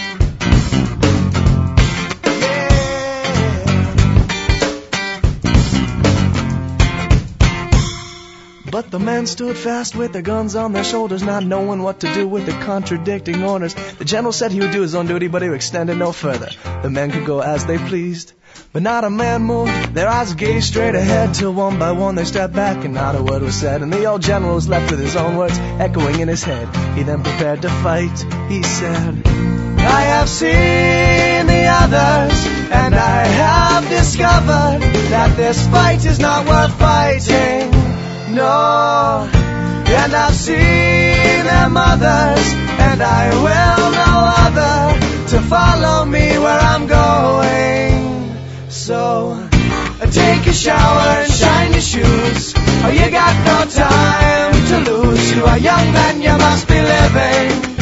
But the men stood fast with their guns on their shoulders, not knowing what to do with the contradicting orders. The general said he would do his own duty, but he extended no further. The men could go as they pleased, but not a man moved. Their eyes gazed straight ahead, till one by one they stepped back and not a word was said. And the old general was left with his own words echoing in his head. He then prepared to fight. He said, I have seen the others, and I have discovered that this fight is not worth fighting. No, and I've seen their mothers, and I will know other to follow me where I'm going. So take a shower and shine your shoes. Oh, you got no time to lose. You are young, then you must be living.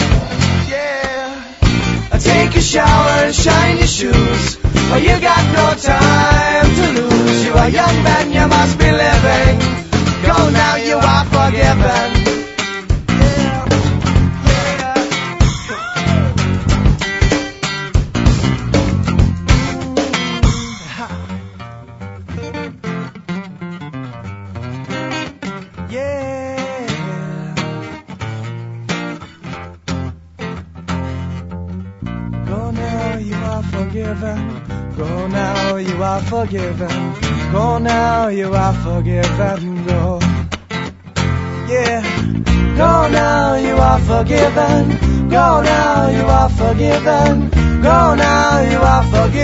Yeah. Take a shower and shine your shoes. Oh, you got no time to lose. You are young, then you must be living. Go now, you are forgiven. Go now, you are forgiven. Go now, you are forgiven. Go now, you are forgiven. Go. Yeah. Go now, you are forgiven. Go now, you are forgiven. Go now, you are forgiven.